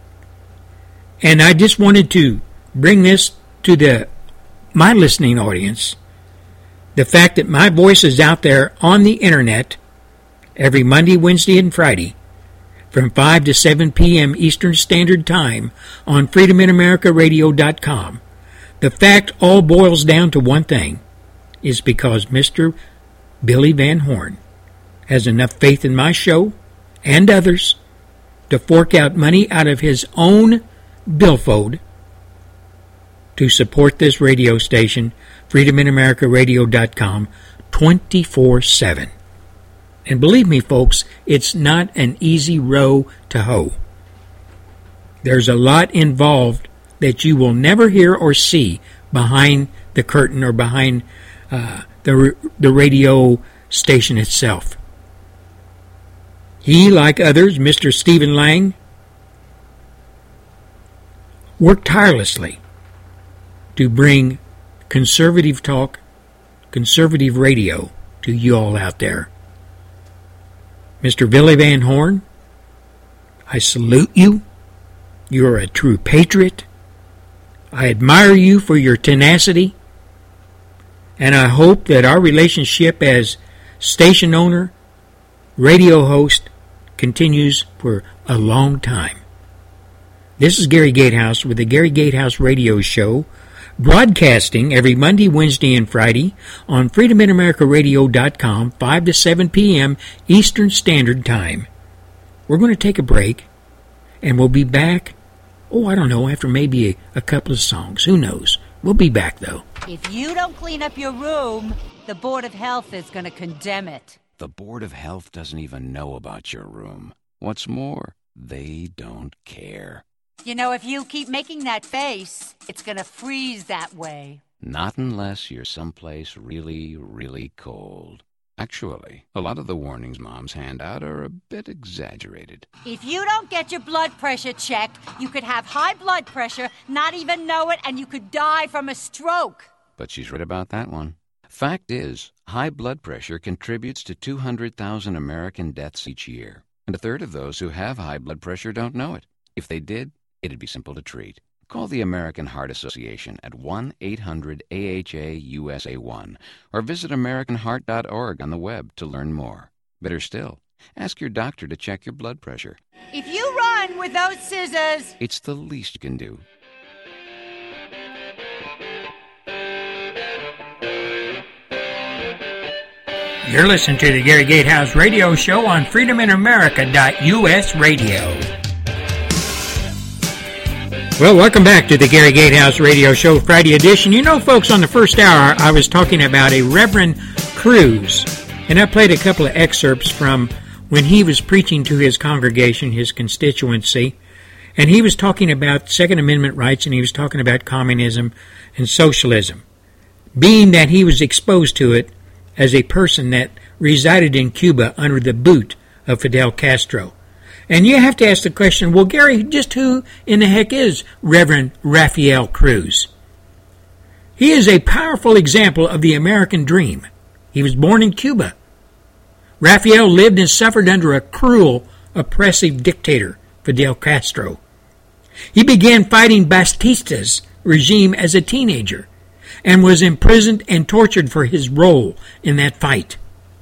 And I just wanted to bring this to the my listening audience, the fact that my voice is out there on the internet every Monday, Wednesday, and Friday from five to seven p.m. Eastern Standard Time on freedom in america radio dot com. The fact all boils down to one thing, is because Mister Billy Van Horn has enough faith in my show and others to fork out money out of his own billfold to support this radio station, freedom in america radio dot com, twenty-four seven. And believe me, folks, it's not an easy row to hoe. There's a lot involved that you will never hear or see behind the curtain or behind uh, the the radio station itself. He, like others, Mister Stephen Lang, worked tirelessly to bring conservative talk, conservative radio to you all out there. Mister Billy Van Horn, I salute you. You're a true patriot. I admire you for your tenacity. And I hope that our relationship as station owner, radio host, continues for a long time. This is Gary Gatehouse with the Gary Gatehouse Radio Show, broadcasting every Monday, Wednesday, and Friday on freedom in america radio dot com, five to seven p.m. Eastern Standard Time. We're going to take a break, and we'll be back, oh, I don't know, after maybe a, a couple of songs. Who knows? We'll be back, though. If you don't clean up your room, the Board of Health is going to condemn it. The Board of Health doesn't even know about your room. What's more, they don't care. You know, if you keep making that face, it's going to freeze that way. Not unless you're someplace really, really cold. Actually, a lot of the warnings moms hand out are a bit exaggerated. If you don't get your blood pressure checked, you could have high blood pressure, not even know it, and you could die from a stroke. But she's right about that one. Fact is, high blood pressure contributes to two hundred thousand American deaths each year. And a third of those who have high blood pressure don't know it. If they did, it'd be simple to treat. Call the American Heart Association at one eight hundred A H A U S A one or visit American Heart dot org on the web to learn more. Better still, ask your doctor to check your blood pressure. If you run with those scissors, it's the least you can do. You're listening to the Gary Gatehouse Radio Show on freedom in america dot U S radio. Well, welcome back to the Gary Gatehouse Radio Show Friday edition. You know, folks, on the first hour, I was talking about a Reverend Cruz, and I played a couple of excerpts from when he was preaching to his congregation, his constituency, and he was talking about Second Amendment rights, and he was talking about communism and socialism, being that he was exposed to it as a person that resided in Cuba under the boot of Fidel Castro. And you have to ask the question, well, Gary, just who in the heck is Reverend Rafael Cruz? He is a powerful example of the American dream. He was born in Cuba. Rafael lived and suffered under a cruel, oppressive dictator, Fidel Castro. He began fighting Batista's regime as a teenager and was imprisoned and tortured for his role in that fight.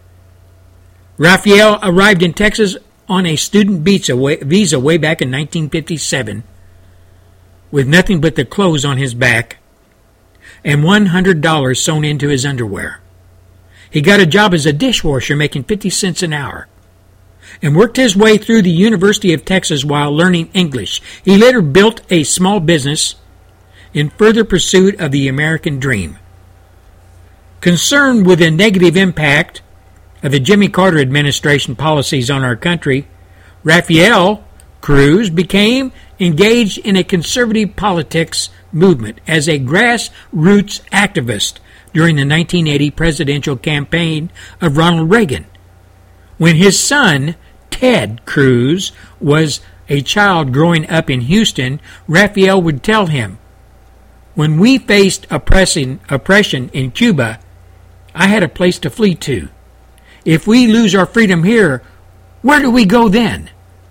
Rafael arrived in Texas on a student visa way, visa way back in nineteen fifty-seven with nothing but the clothes on his back and one hundred dollars sewn into his underwear. He got a job as a dishwasher making fifty cents an hour and worked his way through the University of Texas while learning English. He later built a small business in further pursuit of the American dream. Concerned with the negative impact of the Jimmy Carter administration policies on our country, Rafael Cruz became engaged in a conservative politics movement as a grassroots activist during the nineteen eighty presidential campaign of Ronald Reagan. When his son, Ted Cruz, was a child growing up in Houston, Rafael would tell him, "When we faced oppressing, oppression in Cuba, I had a place to flee to. If we lose our freedom here, where do we go then?"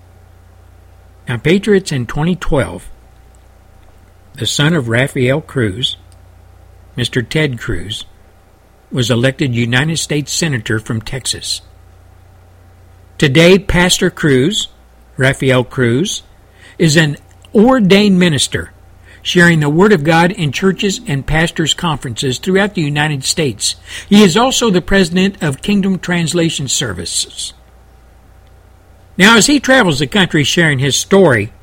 Now, Patriots, in twenty twelve, the son of Rafael Cruz, Mister Ted Cruz, was elected United States Senator from Texas. Today, Pastor Cruz, Rafael Cruz, is an ordained minister, sharing the Word of God in churches and pastors' conferences throughout the United States. He is also the president of Kingdom Translation Services. Now, as he travels the country sharing his story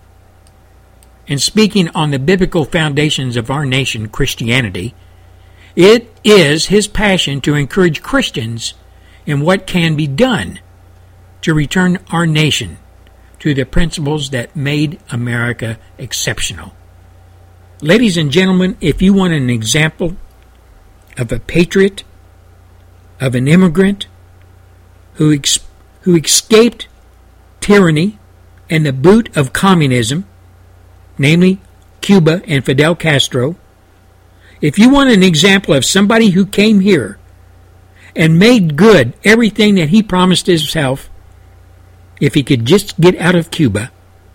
and speaking on the biblical foundations of our nation, Christianity, it is his passion to encourage Christians in what can be done to return our nation to the principles that made America exceptional. Ladies and gentlemen, if you want an example of a patriot, of an immigrant who ex- who escaped tyranny and the boot of communism, namely Cuba and Fidel Castro, if you want an example of somebody who came here and made good everything that he promised himself, if he could just get out of Cuba,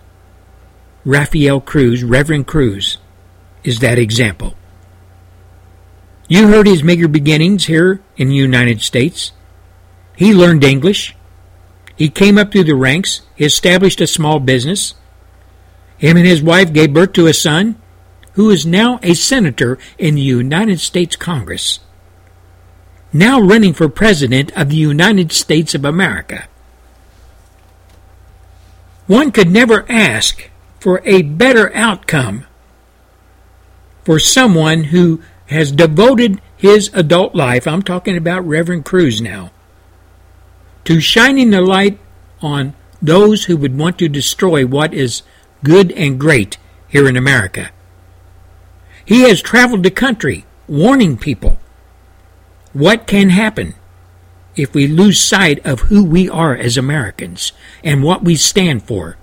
Rafael Cruz, Reverend Cruz, is that example. You heard his meager beginnings here in the United States. He learned English. He came up through the ranks. He established a small business. Him and his wife gave birth to a son who is now a senator in the United States Congress, now running for president of the United States of America. One could never ask for a better outcome for someone who has devoted his adult life, I'm talking about Reverend Cruz now, to shining the light on those who would want to destroy what is good and great here in America. He has traveled the country warning people what can happen if we lose sight of who we are as Americans and what we stand for.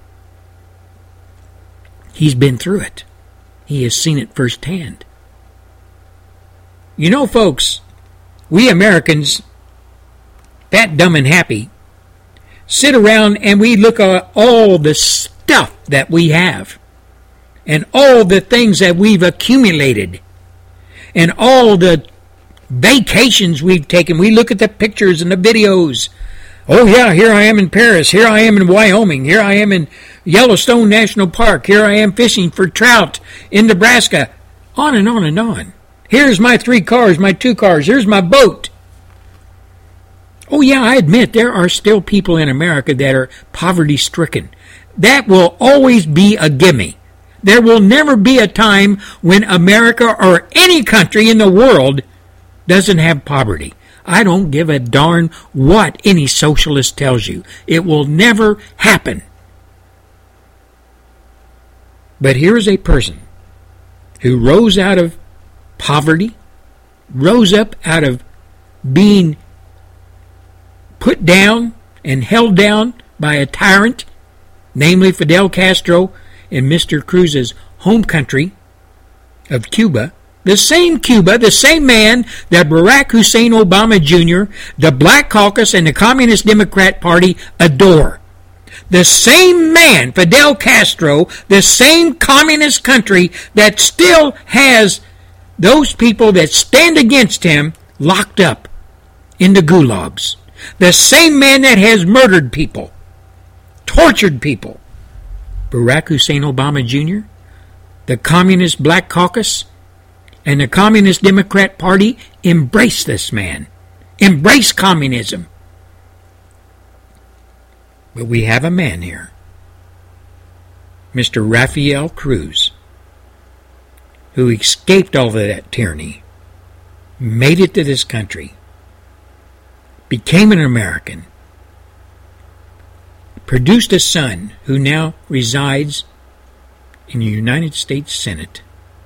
He's been through it. He has seen it firsthand. You know, folks, we Americans, fat, dumb, and happy, sit around and we look at all the stuff that we have and all the things that we've accumulated and all the vacations we've taken. We look at the pictures and the videos. Oh, yeah, here I am in Paris. Here I am in Wyoming. Here I am in Yellowstone National Park. Here I am fishing for trout in Nebraska. On and on and on. Here's my three cars, my two cars. Here's my boat. Oh, yeah, I admit there are still people in America that are poverty-stricken. That will always be a gimme. There will never be a time when America or any country in the world doesn't have poverty. I don't give a darn what any socialist tells you. It will never happen. But here's a person who rose out of poverty, rose up out of being put down and held down by a tyrant, namely Fidel Castro in Mister Cruz's home country of Cuba. The same Cuba, the same man that Barack Hussein Obama Junior, the Black Caucus, and the Communist Democrat Party adore. The same man, Fidel Castro, the same communist country that still has those people that stand against him locked up in the gulags. The same man that has murdered people, tortured people. Barack Hussein Obama Junior, the Communist Black Caucus, and the Communist Democrat Party embrace this man. Embrace communism. But we have a man here, Mister Rafael Cruz, who escaped all of that tyranny, made it to this country, became an American, produced a son who now resides in the United States Senate.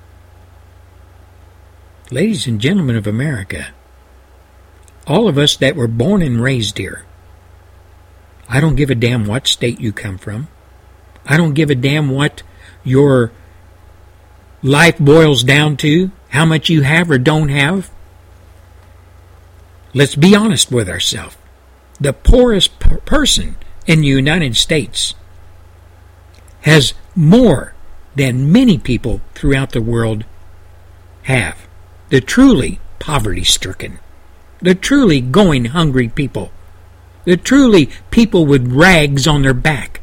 Ladies and gentlemen of America, all of us that were born and raised here, I don't give a damn what state you come from. I don't give a damn what your life boils down to, how much you have or don't have. Let's be honest with ourselves. The poorest per- person in the United States has more than many people throughout the world have. The truly poverty-stricken, the truly going hungry people, the truly people with rags on their back.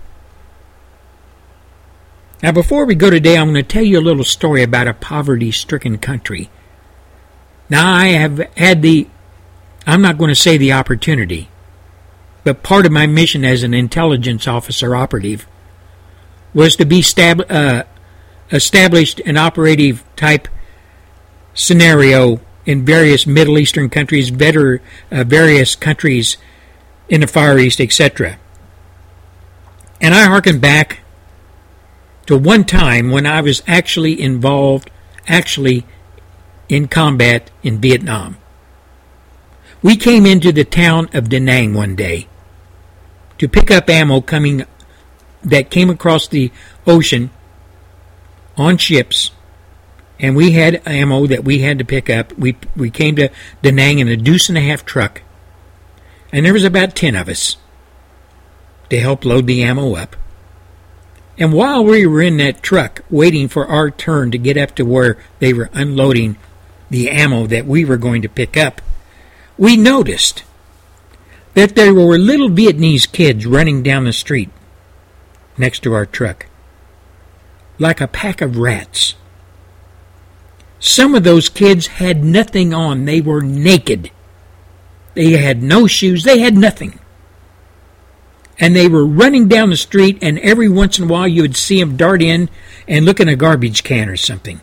Now, before we go today, I'm going to tell you a little story about a poverty-stricken country. Now, I have had the, I'm not going to say the opportunity, but part of my mission as an intelligence officer operative was to be stab, uh, established an operative type scenario in various Middle Eastern countries, better, uh, various countries in the Far East, et cetera. And I hearken back to one time when I was actually involved, actually in combat in Vietnam. We came into the town of Da Nang one day to pick up ammo coming that came across the ocean on ships. And we had ammo that we had to pick up. We we came to Da Nang in a deuce and a half truck. And there was about ten of us to help load the ammo up. And while we were in that truck waiting for our turn to get up to where they were unloading the ammo that we were going to pick up, we noticed that there were little Vietnamese kids running down the street next to our truck, like a pack of rats. Some of those kids had nothing on. They were naked. They had no shoes. They had nothing. And they were running down the street, and every once in a while you would see them dart in and look in a garbage can or something.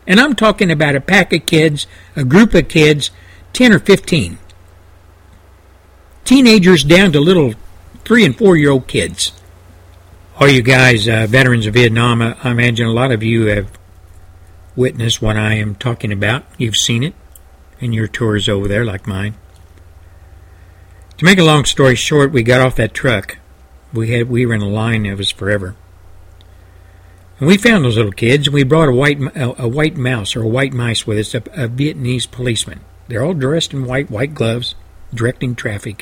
And I'm talking about a pack of kids, a group of kids, ten or fifteen. Teenagers down to little three and four year old kids. All you guys, uh, veterans of Vietnam, I, I imagine a lot of you have witnessed what I am talking about. You've seen it in your tours over there, like mine. To make a long story short, we got off that truck. We had we were in a line that was forever. And we found those little kids, and we brought a white a, a white mouse or a white mice with us, a, a Vietnamese policeman. They're all dressed in white, white gloves, directing traffic.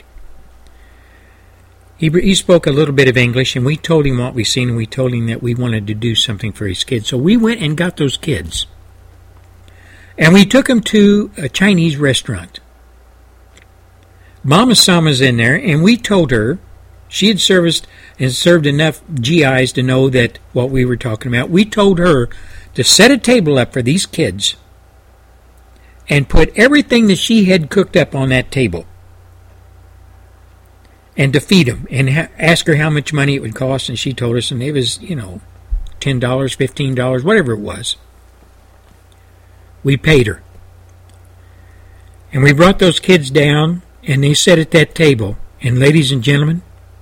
He, he spoke a little bit of English, and we told him what we seen, and we told him that we wanted to do something for his kids. So we went and got those kids. And we took them to a Chinese restaurant. Mama Sama's in there, and we told her, she had serviced and served enough G Is to know that what we were talking about. We told her to set a table up for these kids and put everything that she had cooked up on that table, and to feed them, and ha- ask her how much money it would cost, and she told us, and it was, you know, ten dollars, fifteen dollars, whatever it was. We paid her. And we brought those kids down, and they sat at that table, and ladies and gentlemen,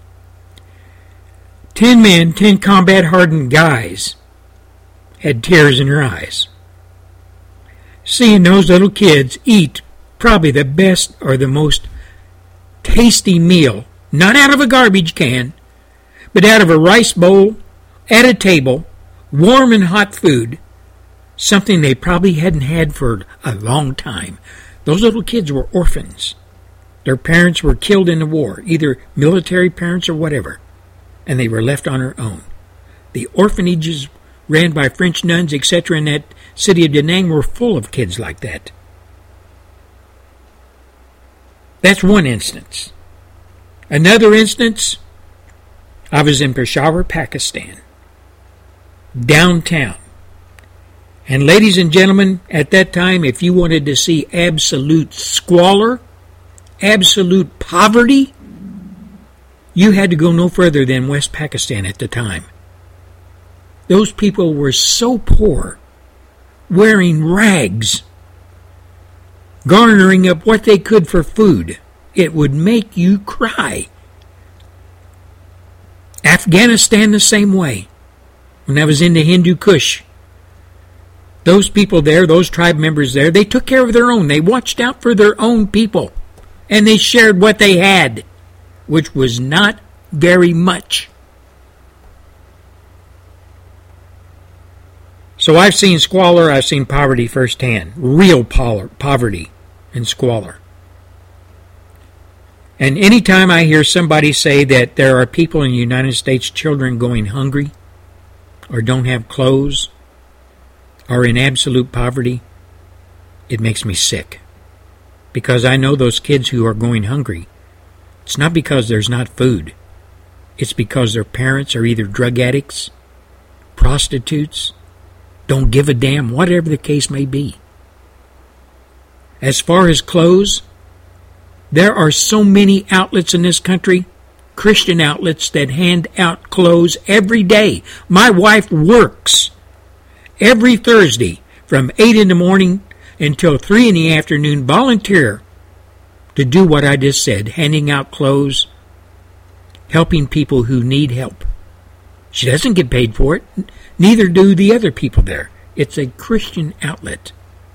ten men, ten combat-hardened guys had tears in their eyes. Seeing those little kids eat probably the best or the most tasty meal, not out of a garbage can, but out of a rice bowl, at a table, warm and hot food, something they probably hadn't had for a long time. Those little kids were orphans. Their parents were killed in the war, either military parents or whatever, and they were left on their own. The orphanages ran by French nuns, et cetera, in that city of Da Nang were full of kids like that. That's one instance. Another instance, I was in Peshawar, Pakistan, downtown. And ladies and gentlemen, at that time, if you wanted to see absolute squalor, absolute poverty, you had to go no further than West Pakistan at the time. Those people were so poor, wearing rags, garnering up what they could for food. It would make you cry. Afghanistan the same way. When I was in the Hindu Kush, those people there, those tribe members there, they took care of their own. They watched out for their own people. And they shared what they had, which was not very much. So I've seen squalor, I've seen poverty firsthand. Real poverty and squalor. And anytime I hear somebody say that there are people in the United States, children going hungry, or don't have clothes, or in absolute poverty, it makes me sick. Because I know those kids who are going hungry, it's not because there's not food. It's because their parents are either drug addicts, prostitutes, don't give a damn, whatever the case may be. As far as clothes, there are so many outlets in this country, Christian outlets, that hand out clothes every day. My wife works every Thursday from eight in the morning until three in the afternoon, volunteer to do what I just said, handing out clothes, helping people who need help. She doesn't get paid for it, neither do the other people there. It's a Christian outlet.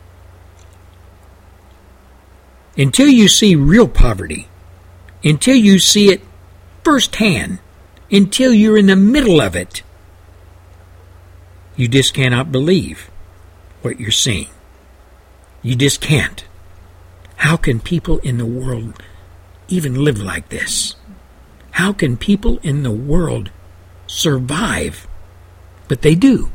Until you see real poverty, until you see it firsthand, until you're in the middle of it, you just cannot believe what you're seeing. You just can't. How can people in the world even live like this? How can people in the world survive? But they do.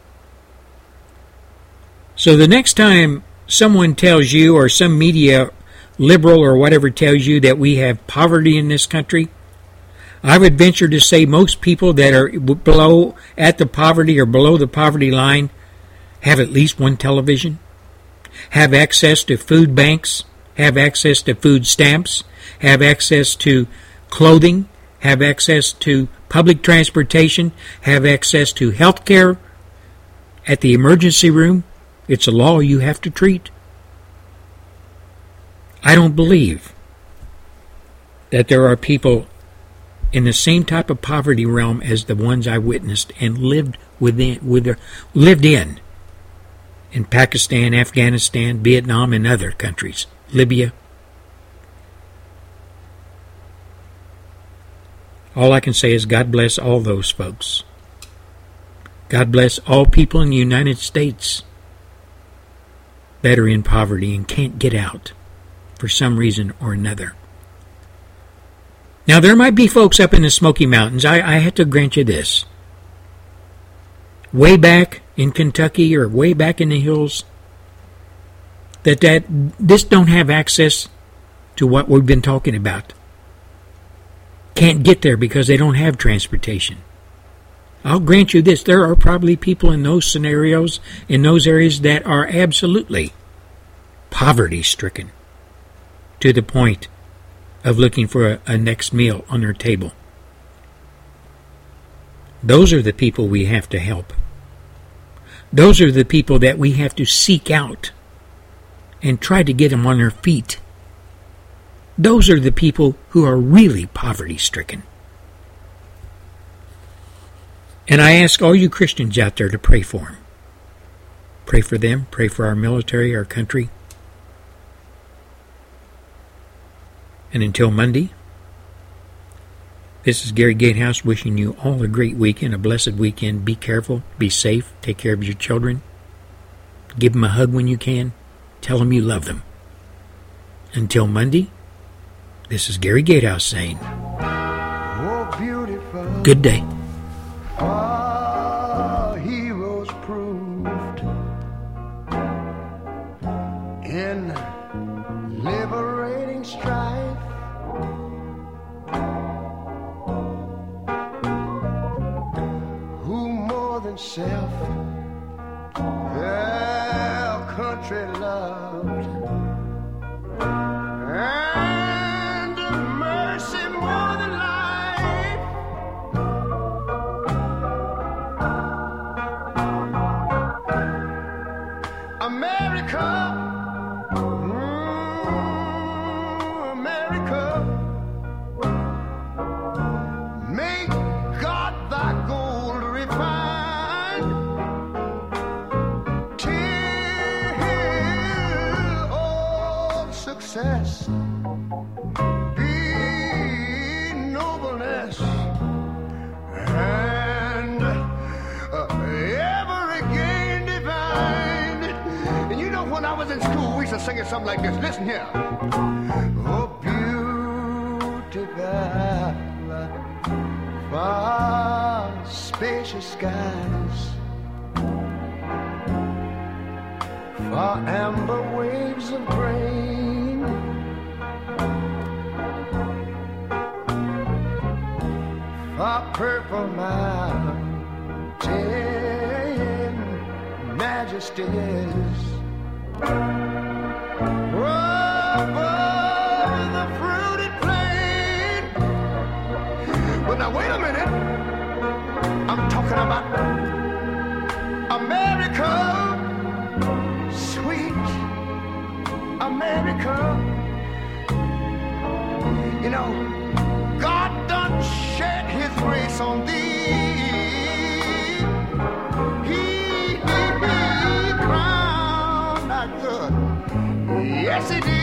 So the next time someone tells you, or some media liberal or whatever tells you, that we have poverty in this country, I would venture to say most people that are below, at the poverty or below the poverty line, have at least one television, have access to food banks, have access to food stamps, have access to clothing, have access to public transportation, have access to health care at the emergency room, It's a law you have to treat. I don't believe that there are people in the same type of poverty realm as the ones I witnessed and lived within, with their, lived in, in Pakistan, Afghanistan, Vietnam, and other countries, Libya. All I can say is God bless all those folks. God bless all people in the United States that are in poverty and can't get out for some reason or another. Now, there might be folks up in the Smoky Mountains. I, I have to grant you this. Way back in Kentucky or way back in the hills, that, that this don't have access to what we've been talking about. Can't get there because they don't have transportation. I'll grant you this. There are probably people in those scenarios, in those areas, that are absolutely poverty-stricken to the point of looking for a, a next meal on their table. Those are the people we have to help. Those are the people that we have to seek out and try to get them on their feet. Those are the people who are really poverty-stricken. And I ask all you Christians out there to pray for them. Pray for them. Pray for our military, our country. And until Monday, this is Gary Gatehouse wishing you all a great weekend, a blessed weekend. Be careful. Be safe. Take care of your children. Give them a hug when you can. Tell them you love them. Until Monday, this is Gary Gatehouse saying, good day. Our heroes proved in liberating strife. Who more than self their country loved, and mercy more than life. America, mm, America, make God thy gold refined, till all success be nobleness, and uh, ever again divine. And you know, when I was in school, we used to sing it something like this. Listen here. Oh, beauty thou, far spacious skies, far amber waves of grain, far purple mountain majesties, above the fruited plain. But now wait a minute, I'm talking about America, sweet America. You know, God done shed his grace on thee. He, he, he crowned thy good. Yes, he did.